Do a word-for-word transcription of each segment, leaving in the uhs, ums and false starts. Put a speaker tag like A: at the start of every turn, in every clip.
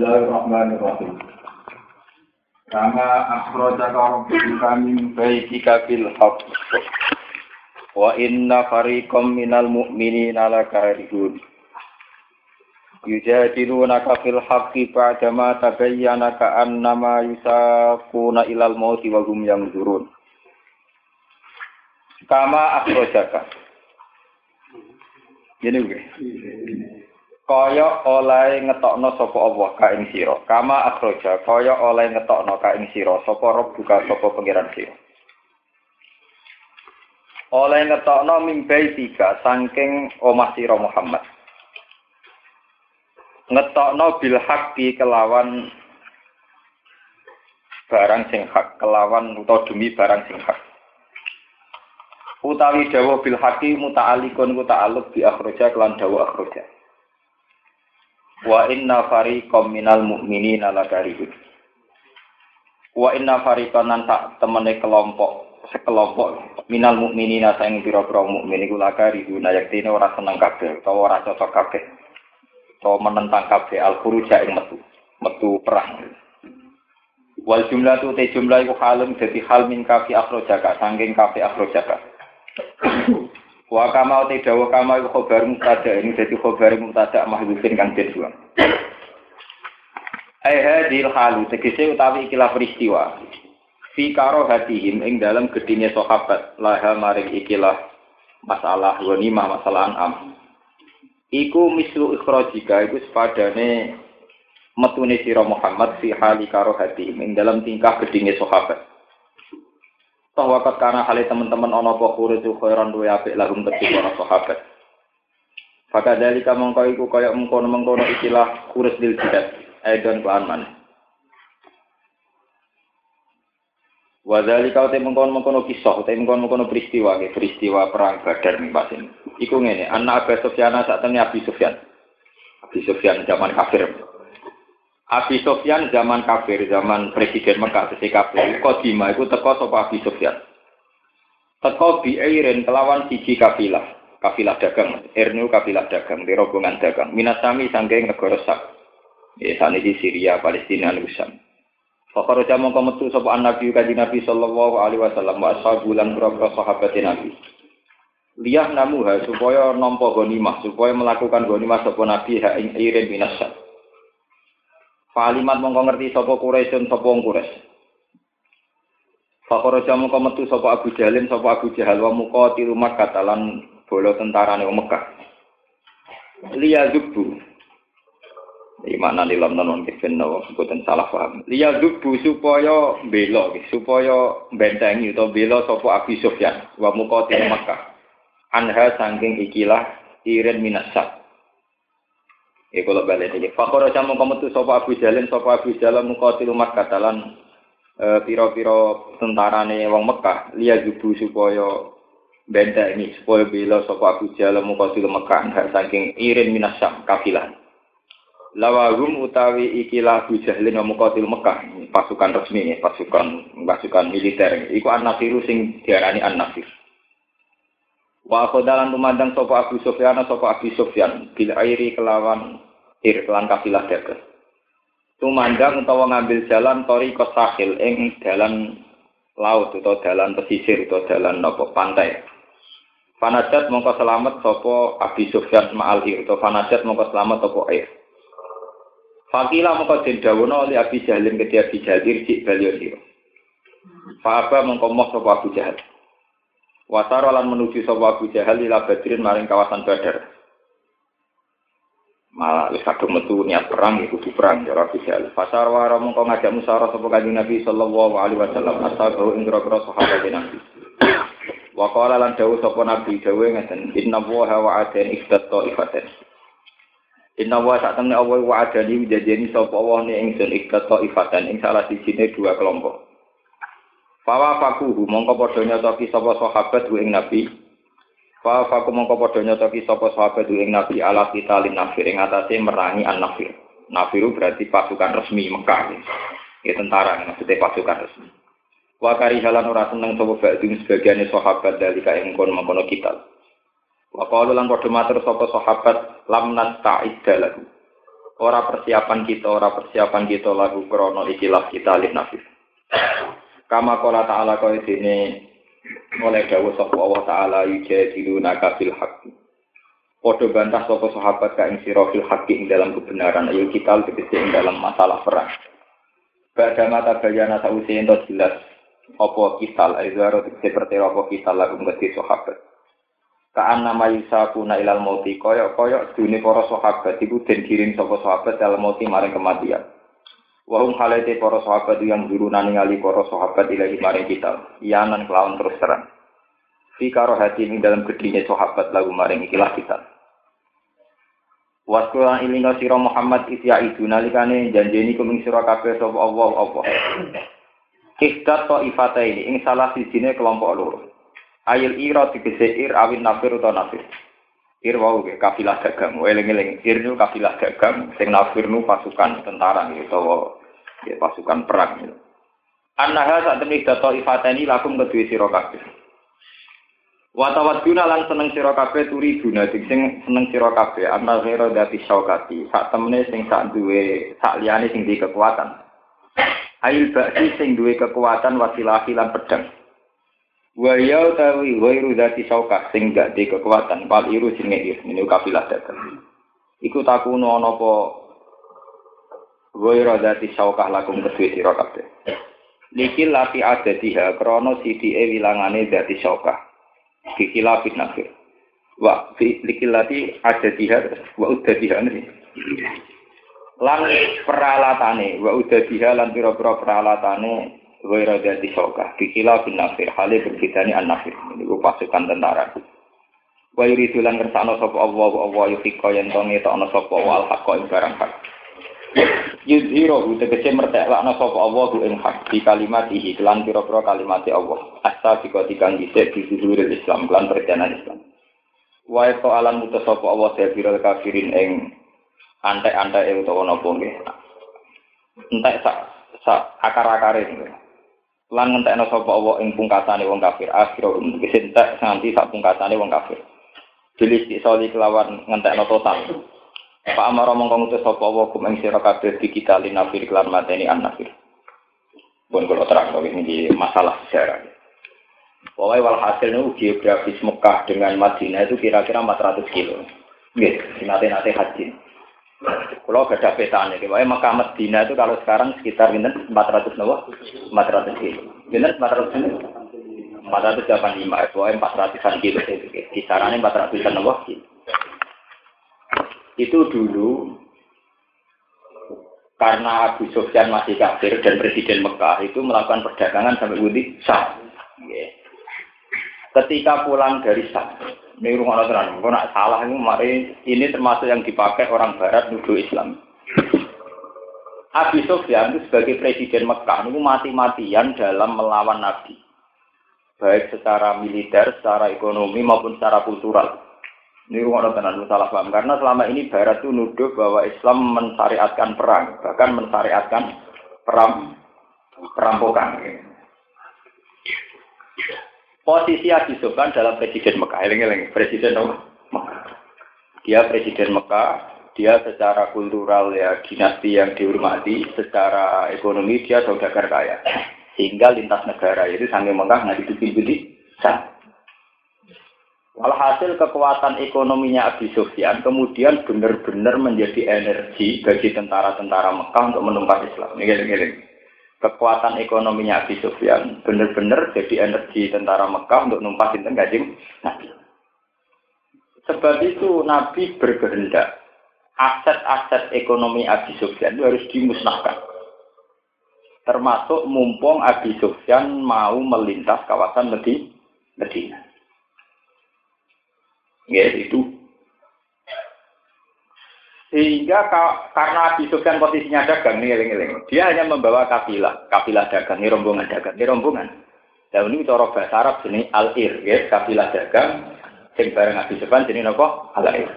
A: Bismillahirrahmanirrahim. Kama akhrajaka rabbuka min baitika bil haqq wa inna fariqam minal mu'minina lakarihun. Yujadilunaka fil haqqi ba'dama tabayyana ka'annama yusaquna ilal mauti wa hum yanzurun. Kama akhrajaka. Gini nggih. Kaya oleh ngetokno sapa Allah ka ing sira. Kama akhraja kaya oleh ngetokno ka ing sira sapa Rabbuka sapa pangeran sira. Oleh ngetokno mimbai tiga saking omah sira Muhammad. Ngetokno bil haqqi kelawan barang sing hak, kelawan utawa demi barang sing hak. Utawi dawuh bil haqqi muta'alliqun ku ta'alluq bi akhraja kelan dawuh akhraja. Wa inna fariqam minal mu'minina lakarihun. Wa inna fariqan lan sak temene kelompok sekelompok minal mu'minina sing pira-pira mukmin iku lakarihun yaktine ora seneng kabeh utawa ora cocok kabeh utawa menentang kabeh al-khuruja ing metu metu perang. Wal jumlatu te jumlah iku halun dadi hal min kafi akhrajaka saking kafi akhrajaka. Wa kama te dawa kama iku khabar mubtada ini dadi khabar mubtada mahdhufin kang kedua. Ai hadil halu tegese utawi ikilah peristiwa. Fi karo hatihim ing dalam gedine sahabat laha maring ikilah masalah ghanimah masalah an'am. Iku mislu ikhrajika iku sepadane metune sira Muhammad fi hali karo hatihim ing dalam tingkah gedine sahabat. Toh wakat karena hal teman-teman ono apa khurizu khairan duwe apik lahum kedhi para sahabat. Faka dalika mongko iku kaya mengkono-mengkono ikilah khuriz dil jihad aidon ku aman. Wa dalika te mengkono-mengkono kisah te mengkono-mengkono peristiwa ke peristiwa perang Badar ning pasin. Iku ngene, anak Abu Sufyan sak temne Abi Sufyan. Abi Sufyan zaman kafir. Abi Sufyan zaman kafir, zaman Presiden Mekah sesi kafir, Qadimah iku teko sapa Abi Sufyan. Teko biirin kelawan siji kafilah, kafilah dagang, ernu kafilah dagang, di rombongan dagang. Minasami saking negara Sak. Ya saniki Syria, Palestina lan Syam. Fakaro jamu kemetu sapa Nabi kanjeng Nabi sallallahu alaihi wasallam wa ashabulan berapa sahabat Nabi. Liyah namuha supaya nampa ghanimah, supaya melakukan ghanimah sapa Nabi ha ing irin minasam. Palimat mongko ngerti sapa Quraisyun sapa wong Quraisy. Fakara jamu metu sapa Abu Jahalin sapa Abu Jahal wa muqatil Makkah lan bola tentarane wong Mekah. Liya zubbu. Iki makna dalam non kifen no boten salah paham. Liya zubbu supaya bela supaya bentengi utawa bela sapa Abu Sufyan wa muqatil Makkah. Anha saking ikilah irin minasab. Ya kalau balik iki. Fakora jamu kemetu sapa Abu Jalin sapa Abu Jalal muqatil Makkah dalan e, pira-pira tentarane wong Mekah liya jubu supaya benteni supaya bela sapa Abu Jalal muqatil Makkah saking irin minasam kafilah. Lawahum utawi ikilah Abu Jalin muqatil Makkah pasukan resmi pasukan pasukan militer iku an-Nasiru sing diarani an-Nasir. Wa khodalan tumandang sapa Abu Sufyan sapa Abu Sufyan bil airi kelawan ir kelan kafilah dagang. Tumandang utawa ngambil jalan tori kosahil ing dalan laut utawa dalan pesisir utawa dalan napa pantai. Fanajat mongko selamat sapa Abu Sufyan ma'al ir utawa fanajat mongko selamat sapa air. Fakila mongko den dawono oleh Abi Jahalin kedhi Abi Jahal cik balio sira. Fa mongko moh sapa Abu Jahal. Wasara lan menuju sapa Abu Jahal ila Badrin maring kawasan Badar. Malah wis kadung metu niat perang iku kudu perang ya Abu Jahal. Fasar wa mongko ngajak musyawarah sapa Kanjeng Nabi sallallahu alaihi wasallam ashabu ing grogro sahabat Nabi. Wa qala lan dawuh sapa Nabi dawuh ngeten inna wa wa'adan iftatta ifaten. Inna wa sak temne Allah wa'adani janjeni sapa Allah ne ingsun iftatta ifaten ing salah sijine dua kelompok. Fawa fakuhu mongko padha nyotoki sapa sahabat ing Nabi. Fawa faku mongko padha nyotoki sapa sahabat ing Nabi ala kita lin nafir ing atase merangi an-nafir. Nafiru berarti pasukan resmi Mekah. Ya tentara maksudnya pasukan resmi. Wa karihalan ora seneng sapa ba'dun sebagiane sahabat dalika ing kono-kono kita. Wa qalu lan padha matur sapa sahabat lam nasta'id lahu. Ora persiapan kita, ora persiapan kita lagu krono ikilah kita alif nafis. Kama qala ta'ala kaya dene oleh dawuh sapa Allah taala yujadiluna kabil haqqi. Padha bantah sapa sahabat ka ing sira fil haqqi ing dalam kebenaran ayo kita tegese ing dalam masalah perang. Badha mata bayana sause ento jelas apa kita aizaro tegese pertera apa kita lagu ngerti sahabat. Kaan nama yusakuna ilal mauti koyok-koyok dunia para sahabat iku den kirim sapa sahabat dalam mauti maring kematian. Wahum halaite para sahabat yang duruna ningali para sahabat ilahi maring kita. Iyanan kelawan terus terang. Fi karo hati ing dalam gedine sahabat lagu maring ikilah kita. Waskulan ilinga sira Muhammad isya itu nalikane janjeni kuming sira kabeh sapa Allah apa. Kihdat to ifataini ing salah sijine kelompok loro. Ayil ira tegese ir awin nafir utawa nafir. Ir wau ge kafilah dagang, eling-eling ir nu kafilah dagang, sing nafir nu pasukan tentara utawa ya pasukan perang. Annaha sak temne data ifatani lakum kedue sira kabeh. Wa tawadduna lan seneng sira kabeh turi guna sing seneng sira kabeh anna ghairu dati syaukati, sak temne sing sak duwe sak liyane sing duwe kekuatan. Ayil ba'si sing duwe kekuatan wasilah lan pedang. Wa ya tawi ghairu dzati saukah sing gak di kekuatan pal iru sing ngir niku kafilah dagang iku takuno ana apa ghairu dzati saukah lakum kedue sira kabeh likil lati adatiha krana sidike wilangane dzati saukah dikilafin nafir wa likil lati adatiha wa udatiha niki lan peralatane wa udatiha lan pira-pira peralatane Waira dadi sokah, dikila bin nafir, halih berbedani an-nafir. Ini pasukan tentara. Wa yuridu lan kersane sapa Allah wa Allah yufika yen to ngetokno sapa wal haqqa ing barang hak. Yuzhiru tegese merteklakno sapa Allah ing hak di kalimatihi lan pira-pira kalimate Allah. Asa dika dikang dhisik di zuhuril Islam lan perjalanan Islam. Wa to alam mutus sapa Allah sabirul kafirin ing antek-anteke utawa napa nggih. Entek sak sak akar-akare niku. Lan ngentekno sapa Allah ing pungkasane wong kafir akhir tegese entek nganti sak pungkasane wong kafir. Jelis disoli kelawan ngentekno total. Pak amara mongko ngutus sapa Allah kum ing sira kabeh dikitali nafir kelan mateni an-nafir. Pun kula terang iki masalah sejarah. Pokoknya walhasil itu geografis Mekah dengan Madinah itu kira-kira empat ratus kilo. Nggih, nate-nate haji. Kalau ada petanya, pokoknya Mekah Madinah itu kalau sekarang sekitar empat ratus nawa, empat ratus kilo. Benar empat ratus kilo, empat ratus delapan puluh lima, pokoknya empat ratusan kilo. Kisarannya empat ratusan nawa. Itu dulu karena Abu Sufyan masih kafir dan Presiden Mekah itu melakukan perdagangan sampai Wudi Syam. Ketika pulang dari Syam, ini rumah orang kalau nak salah ini, mari ini termasuk yang dipakai orang Barat nuduh Islam. Abu Sufyan itu sebagai Presiden Mekah itu mati-matian dalam melawan Nabi, baik secara militer, secara ekonomi maupun secara kultural. Ini rumah orang salah paham karena selama ini Barat itu nuduh bahwa Islam mensyariatkan perang, bahkan mensyariatkan peram perampokan. Posisi Abu Sufyan dalam Presiden Mekah, eling-eling Presiden Mekah. Dia Presiden Mekah, dia secara kultural ya dinasti yang dihormati, secara ekonomi dia saudagar kaya, sehingga lintas negara itu sampai Mekah nggak ditutup-tutup. Walhasil kekuatan ekonominya Abu Sufyan kemudian benar-benar menjadi energi bagi tentara-tentara Mekah untuk menumpas Islam. Eling-eling. Kekuatan ekonominya Abu Sufyan benar-benar jadi energi tentara Mekah untuk numpasin Kanjeng Nabi. Sebab itu Nabi berkehendak aset-aset ekonomi Abu Sufyan itu harus dimusnahkan. Termasuk mumpung Abu Sufyan mau melintas kawasan Medina. Ya itu. Sehingga karena Abu Sufyan posisinya dagang nih, eling-eling. Dia hanya membawa kafilah, kafilah dagang, ini rombongan dagang, ini rombongan. Dan ini cara bahasa Arab jenis al-ir, ya, kafilah dagang, sing bareng Abu Sufyan jenis apa? Al-ir.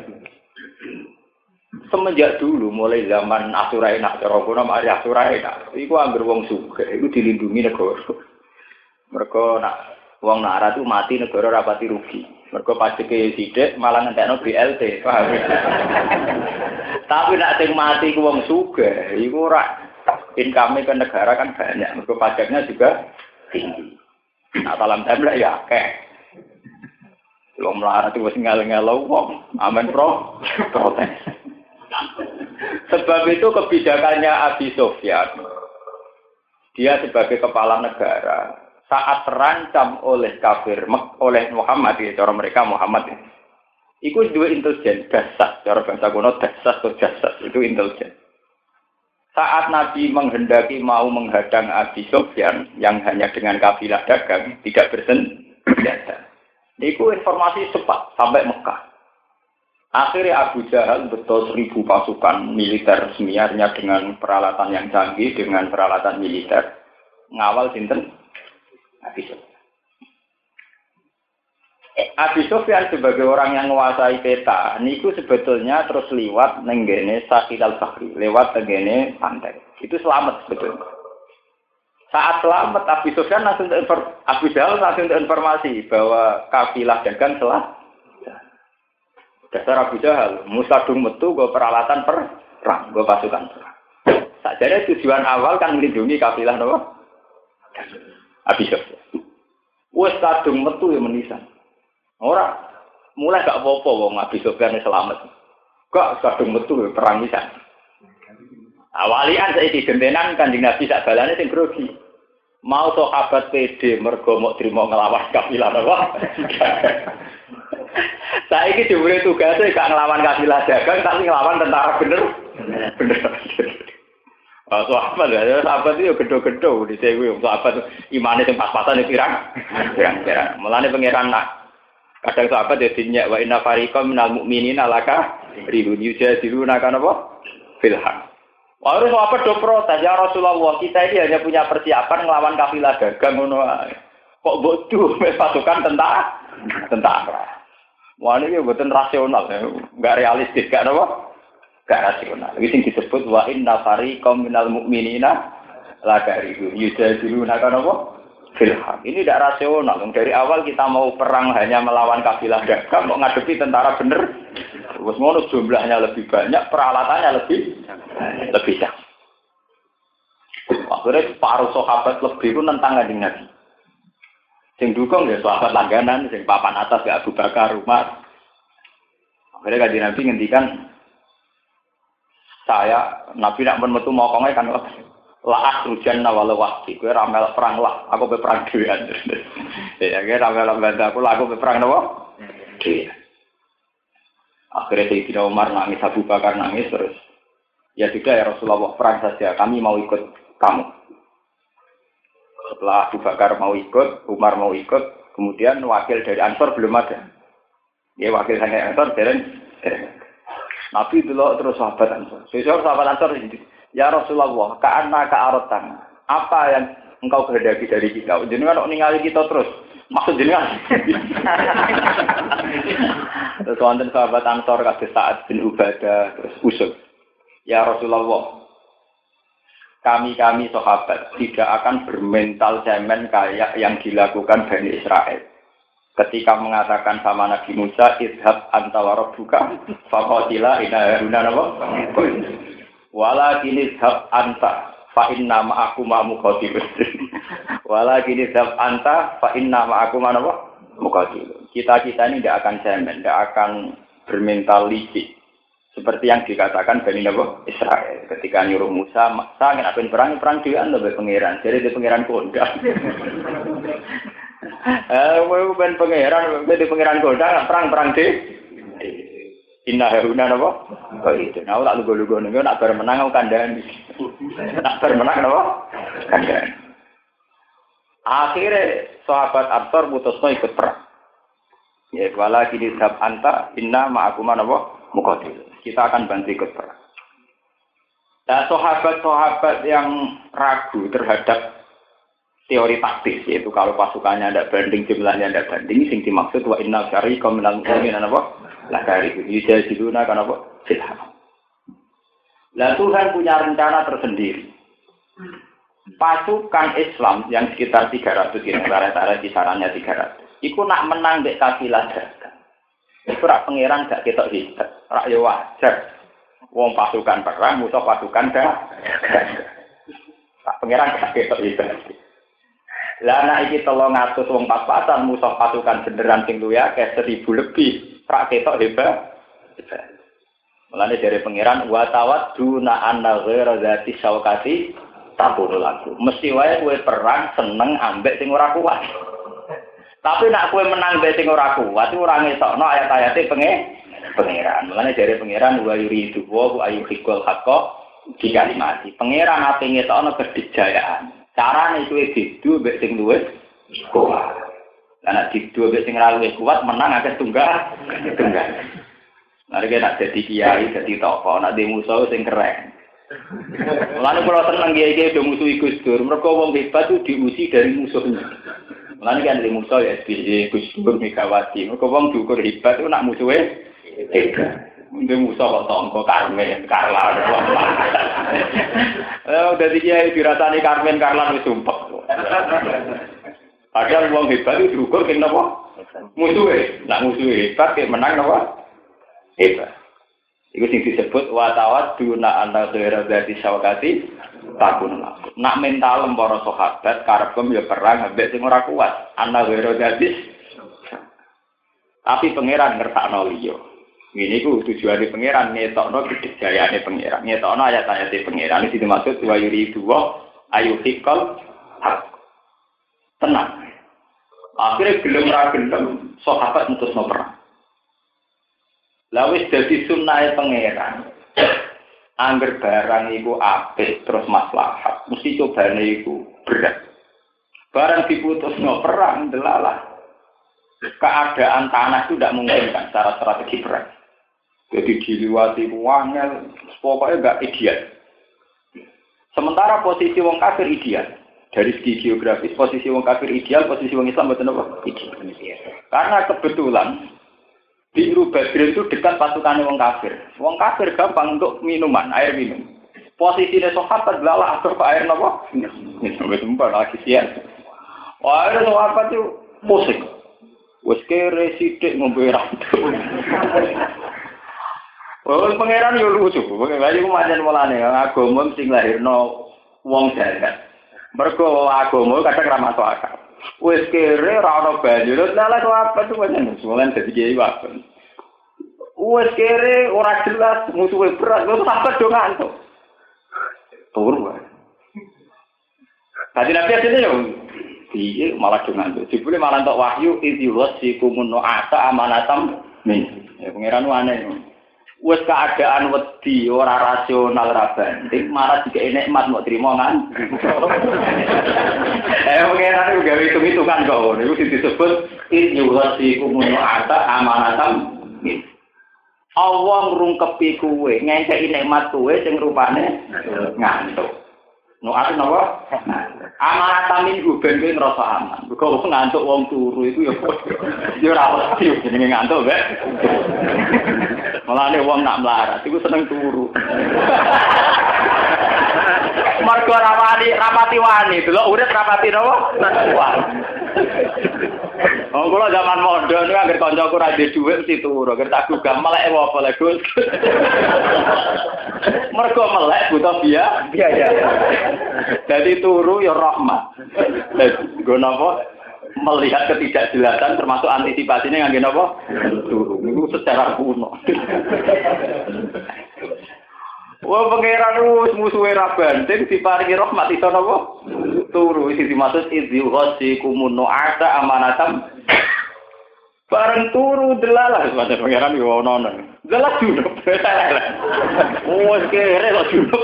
A: Semenjak dulu, mulai zaman Asuraina, cara kuno mari Asuraina, itu anggar wong sugih, itu dilindungi negara. Mereka nak wong nara itu mati negara rapati rugi. Mereka pasti ke sidik malah ngentekno B L T, paham? Tapi nak sing mati ku wong sugih, iku ora income ke negara kan banyak, mergo pajaknya juga tinggi. Nah, dalam template ya akeh. Wong melarat itu wis ngel-ngelo wong, amen pro, protes. Sebab itu kebijakannya Abi Sufyan, dia sebagai kepala negara, saat terancam oleh kafir, oleh Muhammad, ya, cara mereka Muhammad, ya. Itu dua intelijen, dasar, cara bahasa kuno dasar atau jasad, itu intelijen. Saat Nabi menghendaki mau menghadang Abi Sufyan yang hanya dengan kafilah dagang, tidak bersenjata. Itu informasi cepat sampai Mekah. Akhirnya Abu Jahal betul seribu pasukan militer semiarnya dengan peralatan yang canggih, dengan peralatan militer. Ngawal sinten Abi Sufyan. Abi Sufyan sebagai orang yang menguasai peta, niku sebetulnya terus liwat nenggene Sahil al-Bahri, lewat nenggene pantai. Itu selamat sebetulnya. Saat selamat Abi Sufyan langsung Abu Jahal langsung informasi bahwa kafilah dagang telah dasar Abu Jahal, musadung metu go peralatan perang, go pasukan perang. Sajane tujuan awal kan melindungi kafilah napa? Abi Sufyan. Wes kadung metu ya menisan. Ora mulai gak apa-apa wong Abi Sufyan selamat. Kok kadung metu perang pisan. Awalian saiki gentenan Kanjeng Nabi sak balane sing grogi. Mau sahabat P D mergo mok trimo nglawan kafilah apa? Saiki diberi tugasnya gak nglawan kafilah dagang tapi nglawan tentara bener. Bener. Ah sahabat ya, sahabat itu gedho-gedho di sewu sahabat imane sing pas-pasan pirang. Pirang-pirang. Mulane pangeran nak kadang sahabat ya dinyak wa inna fariqam minal mu'minina laka ribun yujadiluna kan apa? Filhaq. Wah, harus apa do protes ya Rasulullah, kita ini hanya punya persiapan ngelawan kafilah dagang ngono ae. Kok bodoh pasukan tentara? Tentara. Wah, ini mboten rasional, enggak realistis, enggak apa? Enggak rasional. Iki sing disebut wa inna fariqam minal mu'minina laka ribun yujadiluna kan apa? Filhaq. Ini tidak rasional. Dari awal kita mau perang hanya melawan kafilah dagang, mau ngadepi tentara bener. Terus ngono jumlahnya lebih banyak, peralatannya lebih lebih banyak. Akhirnya paruh sahabat lebih itu nentang Kanjeng Nabi. Sing dukung ya sahabat langganan, sing papan atas ya Abu Bakar, Umar. Akhirnya Kanjeng Nabi ngendikan saya Nabi nak metu mokonge kan la asrujan walau wahdi, kowe ramel perang lah, aku pe perang dhewean. Ya kowe ramel bantu aku lah, aku pe perang napa? Dhewe. Akhirnya Sayyidina Umar nangis, Abu Bakar nangis terus. Ya sudah ya Rasulullah, perang saja, kami mau ikut kamu. Setelah Abu Bakar mau ikut, Umar mau ikut, kemudian wakil dari Ansor belum ada. Ya wakil dari Ansor dereng. Nabi dulu terus sahabat Ansor. Sesuatu sahabat Ansor ini. Ya Rasulullah, ka'anna ka'arotan. Apa yang engkau kehendaki dari kita? Jenengan kok ningali kita terus. Maksud jenengan. Terus wonten sahabat Ansor kados Sa'ad bin Ubadah terus usul. Ya Rasulullah, kami-kami sahabat tidak akan bermental cemen kayak yang dilakukan Bani Israel. Ketika mengatakan sama Nabi Musa, idhab anta wa rabbuka faqatila inna haruna napa? Walakin idhab anta fa inna ma'akuma muqatilun. Walakin idhab anta fa inna ma'akuma napa? Muqatilun. Kita-kita ini tidak akan cemen, tidak akan bermental licik. Seperti yang dikatakan Bani Nabi Israel ketika nyuruh Musa, "Sa ngene apen perang perang dhewean lho pangeran." Jadi di pangeran kondang. Eh, kowe ben pangeran, ben pangeran kondang perang-perang dhewe. Inna haruna napa? Kok itu. Nah, tak lugu-lugu ning nak bar menang aku kandhani. Nak bar menang napa? Kandhani. Akhirnya sahabat Ansor putusno ikut perang. Ya wala kini sab anta inna ma'akuma napa? Muqatil. Kita akan bantu ikut perang. Nah, sahabat-sahabat yang ragu terhadap teori taktis, yaitu kalau pasukannya tidak banding, jumlahnya tidak banding, sing dimaksud wa inna syari komunal mu'minin apa? Lah dari itu, yujadiluna kan apa? Filhaq. Lah Tuhan punya rencana tersendiri. Pasukan Islam yang sekitar tiga ratus ini, rata-rata kisarannya tiga ratus. Iku nak menang dek kafilah dagang. Iku rak pangeran gak ketok hebat, rak yo wajar. Wong pasukan perang, musuh pasukan dah. Tak pangeran gak ketok itu. Lah nek iki telung atus wong pas-pasan musuh pasukan beneran sing luwih akeh seribu lebih, rak ketok hebat. Mulane dari pangeran wa tawadduna anna ghaira zati syaukati tabur lagu. Mesti wae kowe perang seneng ambek sing ora kuat. Tapi nek kowe menang mbek sing ora kuat, ora ngetokno ayat-ayate pengen pangeran. Mulane dari pangeran wa yuridu wa ayyuhikul haqqo dikalimati. Pangeran ate ngetokno kedijayaan. Carane kuwi didu mbek sing luwih kuat. Lah nek didu mbek sing ora luwih kuat menang akeh tunggal. Tunggal. Mari kita jadi kiai, jadi tokoh, nak di musuh sing keren. Mulane kula seneng kiai-kiai do musuh Gus Dur, mergo wong hebat itu diusi dari musuhnya. Mulane kan di musuh ya S B Y, Gus Dur, Megawati. Mergo wong diukur hebat itu nak musuhe hebat. Di musuh kok tonggo Karmen, Karlan. Eh dadi kiai dirasani Karmen, Karlan wis sumpek. Padahal wong hebat itu diukur kene napa? Musuhe. Nak musuhe hebat kek menang napa? Hebat. Iku sing disebut wa tawadduna anta ghaira dzati syawkati takun laku. Nak mental para sahabat karepem ya perang ambek sing ora kuat. Anta ghaira dzati. Tapi pangeran ngertakno liya. Ngene iku tujuane pangeran ngetokno kedijayane pangeran. Ngetokno ayat-ayate pangeran iki dimaksud wa yuridu wa ayyuhikal haq. Tenang. Akhirnya gelem ra gelem sahabat mutusno perang. Lawis dadi sunnahe pangeran. Angger barang iku apik terus maslahat, mesti cobane iku berat. Barang diputusno perang delalah. Keadaan tanah itu tidak memungkinkan secara strategi perang. Jadi diliwati wangel, pokoknya enggak ideal. Sementara posisi wong kafir ideal. Dari segi geografis posisi wong kafir ideal, posisi wong Islam betul apa? Ideal. Karena kebetulan Biru Badrin itu dekat pasukan wong kafir. Wong kafir gampang untuk minuman, air minum. Posisinya sahabat belalah atau air napa? Sampai tempat lagi sian. Wah, air sahabat itu musik. Wes kere sithik ngombe rantu. Oh, pangeran yo lucu. Pangeran iku pancen mulane agama sing lahirno wong jagat. Mergo agama kadang ra masuk akal. Wes kere ra ono banyu, lha lha kok apa tuh pancen solan dadi kiai wae. Wes kere ora jelas musuhe berat, kok sampe do ngantuk. Tur wae. Tadi nabi asline yo piye malah do ngantuk. Jebule malah entuk wahyu idziwas sikumun ata amanatam min. Ya pangeran aneh. Wes keadaan wedi ora rasional ra banding malah dikek nikmat mau trimo kan. Eh pengenan gawe hitung-hitungan kok ngono iku disebut inyuwasi kumono ata amanatam. Allah ngrungkepi kuwe ngenteki nikmat kuwe sing rupane ngantuk. No ate napa? Amanatam iku ben kowe ngrasa aman. Mergo ngantuk wong turu iku ya ya ora wedi jenenge ngantuk, Mbak. Mulane wong nak melarat iku seneng turu. Margo rawani rapati wani, delok urip rapati napa? Wani. Oh, kula zaman mondho niku anggere kancaku ra duwe dhuwit mesti turu, anggere tak gugah melek apa lek Gus. Mergo melek butuh biaya, biaya. Dadi turu ya rahmat. Nggo napa? Melihat ketidakjelasan termasuk antisipasinya ngangge napa? Turu. Niku secara kuno. Wah pangeran wis musuhe ra banting diparingi rahmat iso napa? Turu iki dimaksud idzil ghasi kumun ada amanatam. Bareng turu delalah padha pangeran yo ono. Delah junub. Wes kere kok junub.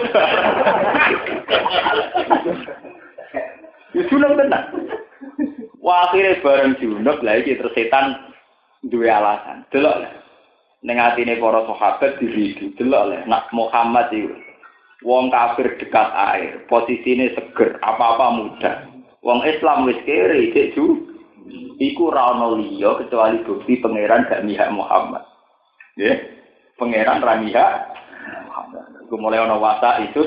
A: Wis junub tenan. Wah akhire bareng junub lha iki terus setan duwe alasan. Delok ning atine para sahabat diridu delok le nak Muhammad iki wong kafir dekat air posisine seger apa-apa mudah wong Islam wis kere cek ju iku ra ono liya kecuali bukti pangeran gak mihak Muhammad nggih pangeran ra mihak Muhammad iku mulai ono wasa isus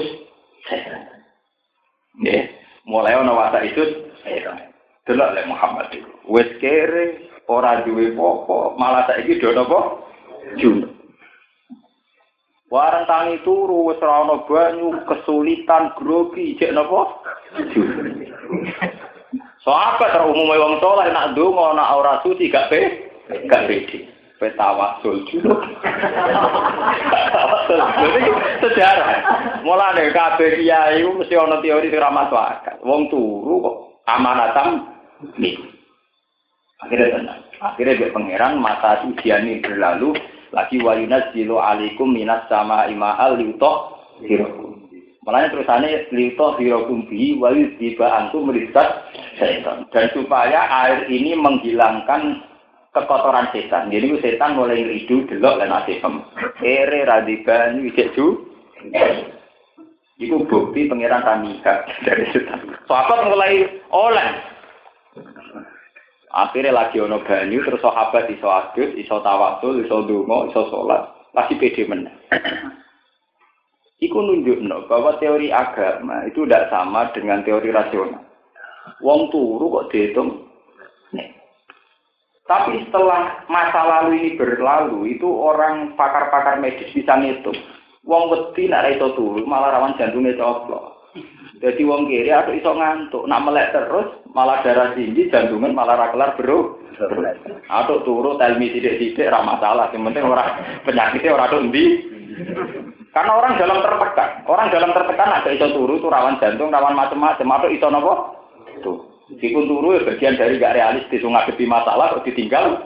A: nggih mulai ono wasa isus delok le Muhammad iku wis kere ora duwe apa malah saiki do napa junub. Warang tangi turu wis ora ana banyu, kesulitan grogi, jek napa? Sahabat ter umume wong saleh nak ndonga nak ora suci gak pe, gak pede. Petawasul juga. Jadi sejarah. Mulane kabeh kiai iku mesti ana teori sing ra masuk akal. Wong turu kok amanatan nih. Akhirnya tenang. Akhirnya biar pangeran mata ujian ini berlalu lagi wayunas jilu alikum minas sama ima'al liutoh hirokum. Mulanya terusannya liutoh hirokum bi wayus diba antum merisat setan. Dan supaya air ini menghilangkan kekotoran setan. Jadi setan mulai ngeridu delok lan asem. Ere radiban wisik ju. Iku bukti pangeran Tamika dari setan. Sahabat mulai oleh. Akhirnya lagi ono banyu terus sahabat iso adus, iso tawasul, iso ndonga, iso salat, lagi pede meneh. Iku nunjukno bahwa teori agama itu tidak sama dengan teori rasional. Wong turu kok dihitung. Nih. Tapi setelah masa lalu ini berlalu, itu orang pakar-pakar medis bisa ngitung. Wong wedi nek iso turu malah rawan jantungnya coplok. Jadi wong kiri atau iso ngantuk, nak melek terus malah darah tinggi, jantungan malah ra kelar bro. Atau turu telmi sidik-sidik ra masalah, yang penting orang penyakitnya ora tok ndi. Karena orang dalam tertekan, orang dalam tertekan ada iso turu itu rawan jantung, rawan macam-macam, atau iso napa? Tuh. Meskipun turu ya bagian dari gak realistis, ngadepi masalah kok ditinggal.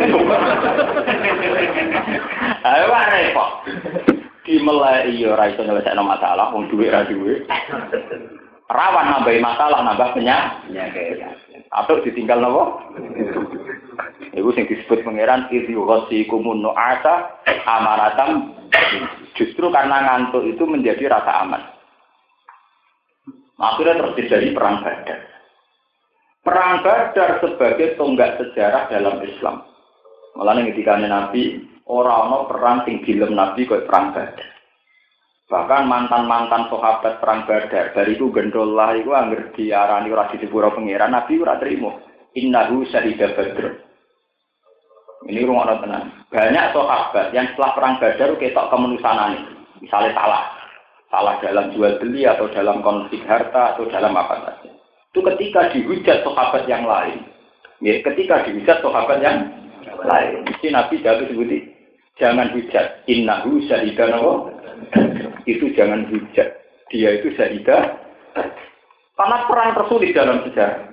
A: Ayo repot. Dimelai ya ora iso nyelesaikno masalah, wong dhuwit ra duwe. Rawan nambahi masalah, nambah penyakit. Atau ditinggal napa? Iku sing disebut pangeran idzihosikumun nu'asa amaratam. Justru karena ngantuk itu menjadi rasa aman. Akhirnya terus terjadi perang Badar. Perang Badar sebagai tonggak sejarah dalam Islam. Malah ketika Nabi orang-orang perang sing dilem Nabi kaya perang Badar. Bahkan mantan-mantan sahabat perang Badar dari itu gendollah itu angger diarani ora disepuro pangeran Nabi ora trimo. Innahu syahida Badr. Ini rumah tenan. Banyak sahabat yang setelah perang Badar ketok kemanusanane. Misalnya salah. Salah dalam jual beli atau dalam konflik harta atau dalam apa saja. Itu ketika dihujat sahabat yang lain. Ya, ketika dihujat sahabat yang lain. Mesti Nabi jatuh sebuti. Jangan hujat. Innahu syahida nawa. Itu jangan hujat. Dia itu syahida. Karena perang tersulit dalam sejarah.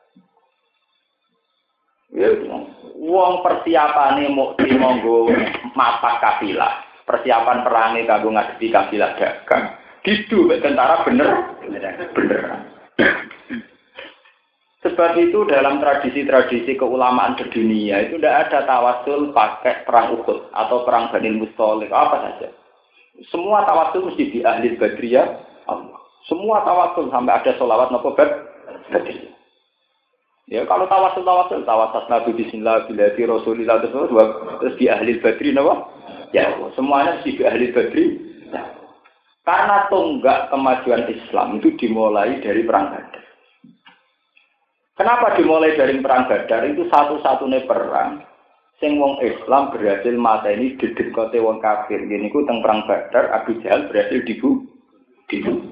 A: Ya, wong persiapane mau dimonggo mapak kafilah. Persiapan perangnya kanggo ngadepi kafilah dagang. Didu tentara bener bener. Sebab itu dalam tradisi-tradisi keulamaan sedunia itu tidak ada tawasul pakai perang Uhud atau perang Bani Mustalik apa saja. Semua tawasul mesti di ahli Badriyah Allah. Semua tawasul sampai ada sholawat nopo Badriyah. Ya kalau tawasul tawasul tawasul Nabi Bismillah bilati Rasulillah terus terus di ahli Badri nopo. Ya, semuanya mesti di ahli Badri. Ya. Karena tonggak kemajuan Islam itu dimulai dari perang Badar. Kenapa dimulai dari perang Badar? Itu satu-satunya perang sing wong Islam berhasil mateni dedekote wong kafir. Gini ku teng perang Badar Abu Jahal berhasil dibu dibu.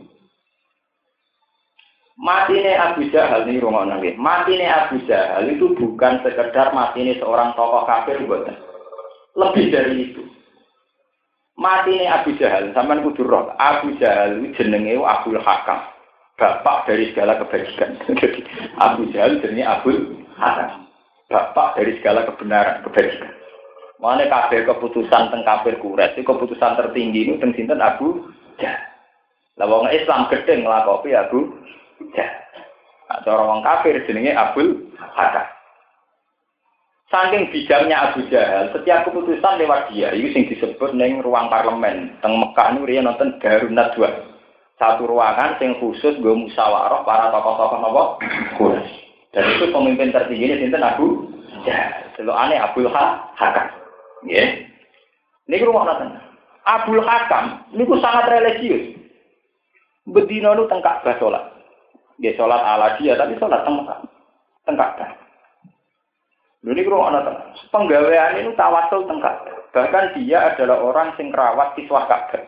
A: Matine Abu Jahal ini rungono nggih. Matine Abu Jahal itu bukan sekedar matine seorang tokoh kafir mboten. Lebih dari itu. Matine Abu Jahal sampean kudu roh. Abu Jahal jenenge Abdul Hakam. Bapak dari segala kebajikan. Jadi Abu Jahal jenenge Abdul Hakam. Bapak dari segala kebenaran, kebajikan. Mane kabeh keputusan teng kafir Quraisy, keputusan tertinggi itu teng sinten Abu Jahal. Lah wong Islam gedhe nglakopi Abu Jahal. Cara wong kafir jenenge Abdul Hakam. Saking bijaknya Abu Jahal, setiap keputusan lewat dia, itu yang disebut neng ruang parlemen. Teng Mekah ini dia nonton Darun Nadwa. Satu ruangan yang khusus gue musyawarah para tokoh-tokoh nopo Quraisy. Dan itu pemimpin tertingginya sinten Abu Jahal. Celokane Abdul Hakam. Nggih. Niku rumah nonton. Abdul Hakam niku sangat religius. Bedino nu teng Ka'bah salat. Nggih salat ala dia tapi salat teng Mekah. Teng Ka'bah. Lha niku ana ta. Penggaweane niku tawasul teng Ka'bah. Bahkan dia adalah orang sing rawat kiswah Ka'bah.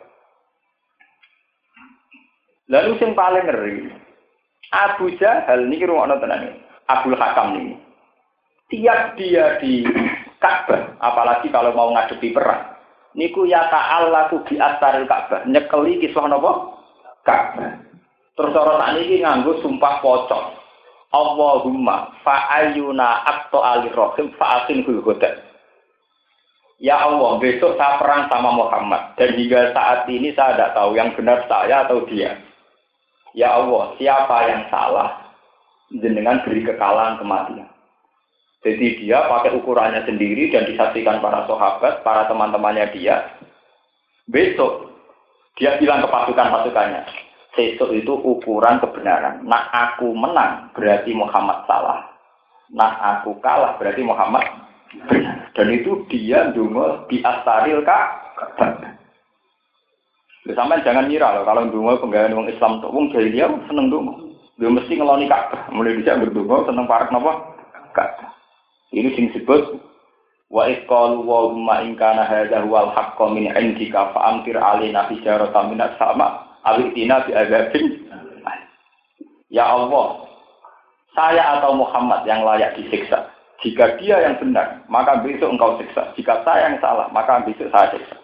A: Lalu sing paling ngeri, Abu Jahal niki rumakno tenan. Abdul Hakam ini. Tiap dia di Ka'bah, apalagi kalau mau ngadepi perang, niku ya ta'allaku bi astaril Ka'bah, nyekeli kiswah napa? Ka'bah. Terus ora tak niki nganggo sumpah pocong. Allahumma fa'ayyuna aqta alirrahim fa'asin hulhuda. Ya Allah, besok saya perang sama Muhammad. Dan hingga saat ini saya tidak tahu yang benar saya atau dia. Ya Allah, siapa yang salah? Jenengan beri kekalahan kematian. Jadi dia pakai ukurannya sendiri dan disaksikan para sahabat, para teman-temannya dia. Besok, dia bilang ke pasukan-pasukannya. Besok itu ukuran kebenaran. Nah aku menang, berarti Muhammad salah. Nah aku kalah, berarti Muhammad benar. Dan itu dia ndonga di astaril Ka'bah. Lha sampean jangan ngira loh kalau ndonga penggawean wong Islam tok wong jahiliyah seneng ndonga. Dia mesti ngeloni Ka'bah. Mulai dhisik ndonga seneng parek napa? Ka'bah. Ini sing disebut wa iqalu wa ma in kana hadza huwal haqqu min indika fa amtir alaina hijaratan minas sama awitina bi azabin. Ya Allah, saya atau Muhammad yang layak disiksa. Jika dia yang benar, maka besok engkau siksa. Jika saya yang salah, maka besok saya siksa.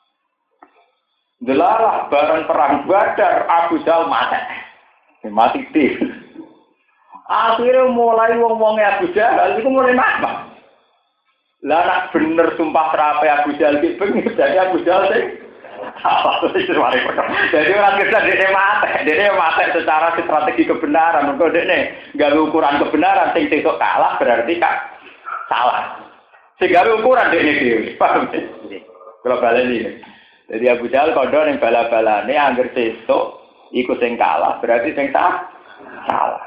A: Delalah barang perang Badar, Abu Jahal mati. Mati di. Akhirnya mulai wong-wongnya Abu Jahal itu mulai nakal. Lah nak bener sumpah terape Abu Jahal iki bengis jadi Abu Jahal sing salah. Jadi orang kita dia mati, dia mati secara strategi kebenaran. Mergo dekne gawe ukuran kebenaran sing sesuk kalah berarti kak salah. Sing gawe ukuran dekne dhewe. Paham? Kalau baleni. Jadi Abu Jahal kondo ning bala-balane angger sesuk iku sing kalah berarti sing sah salah.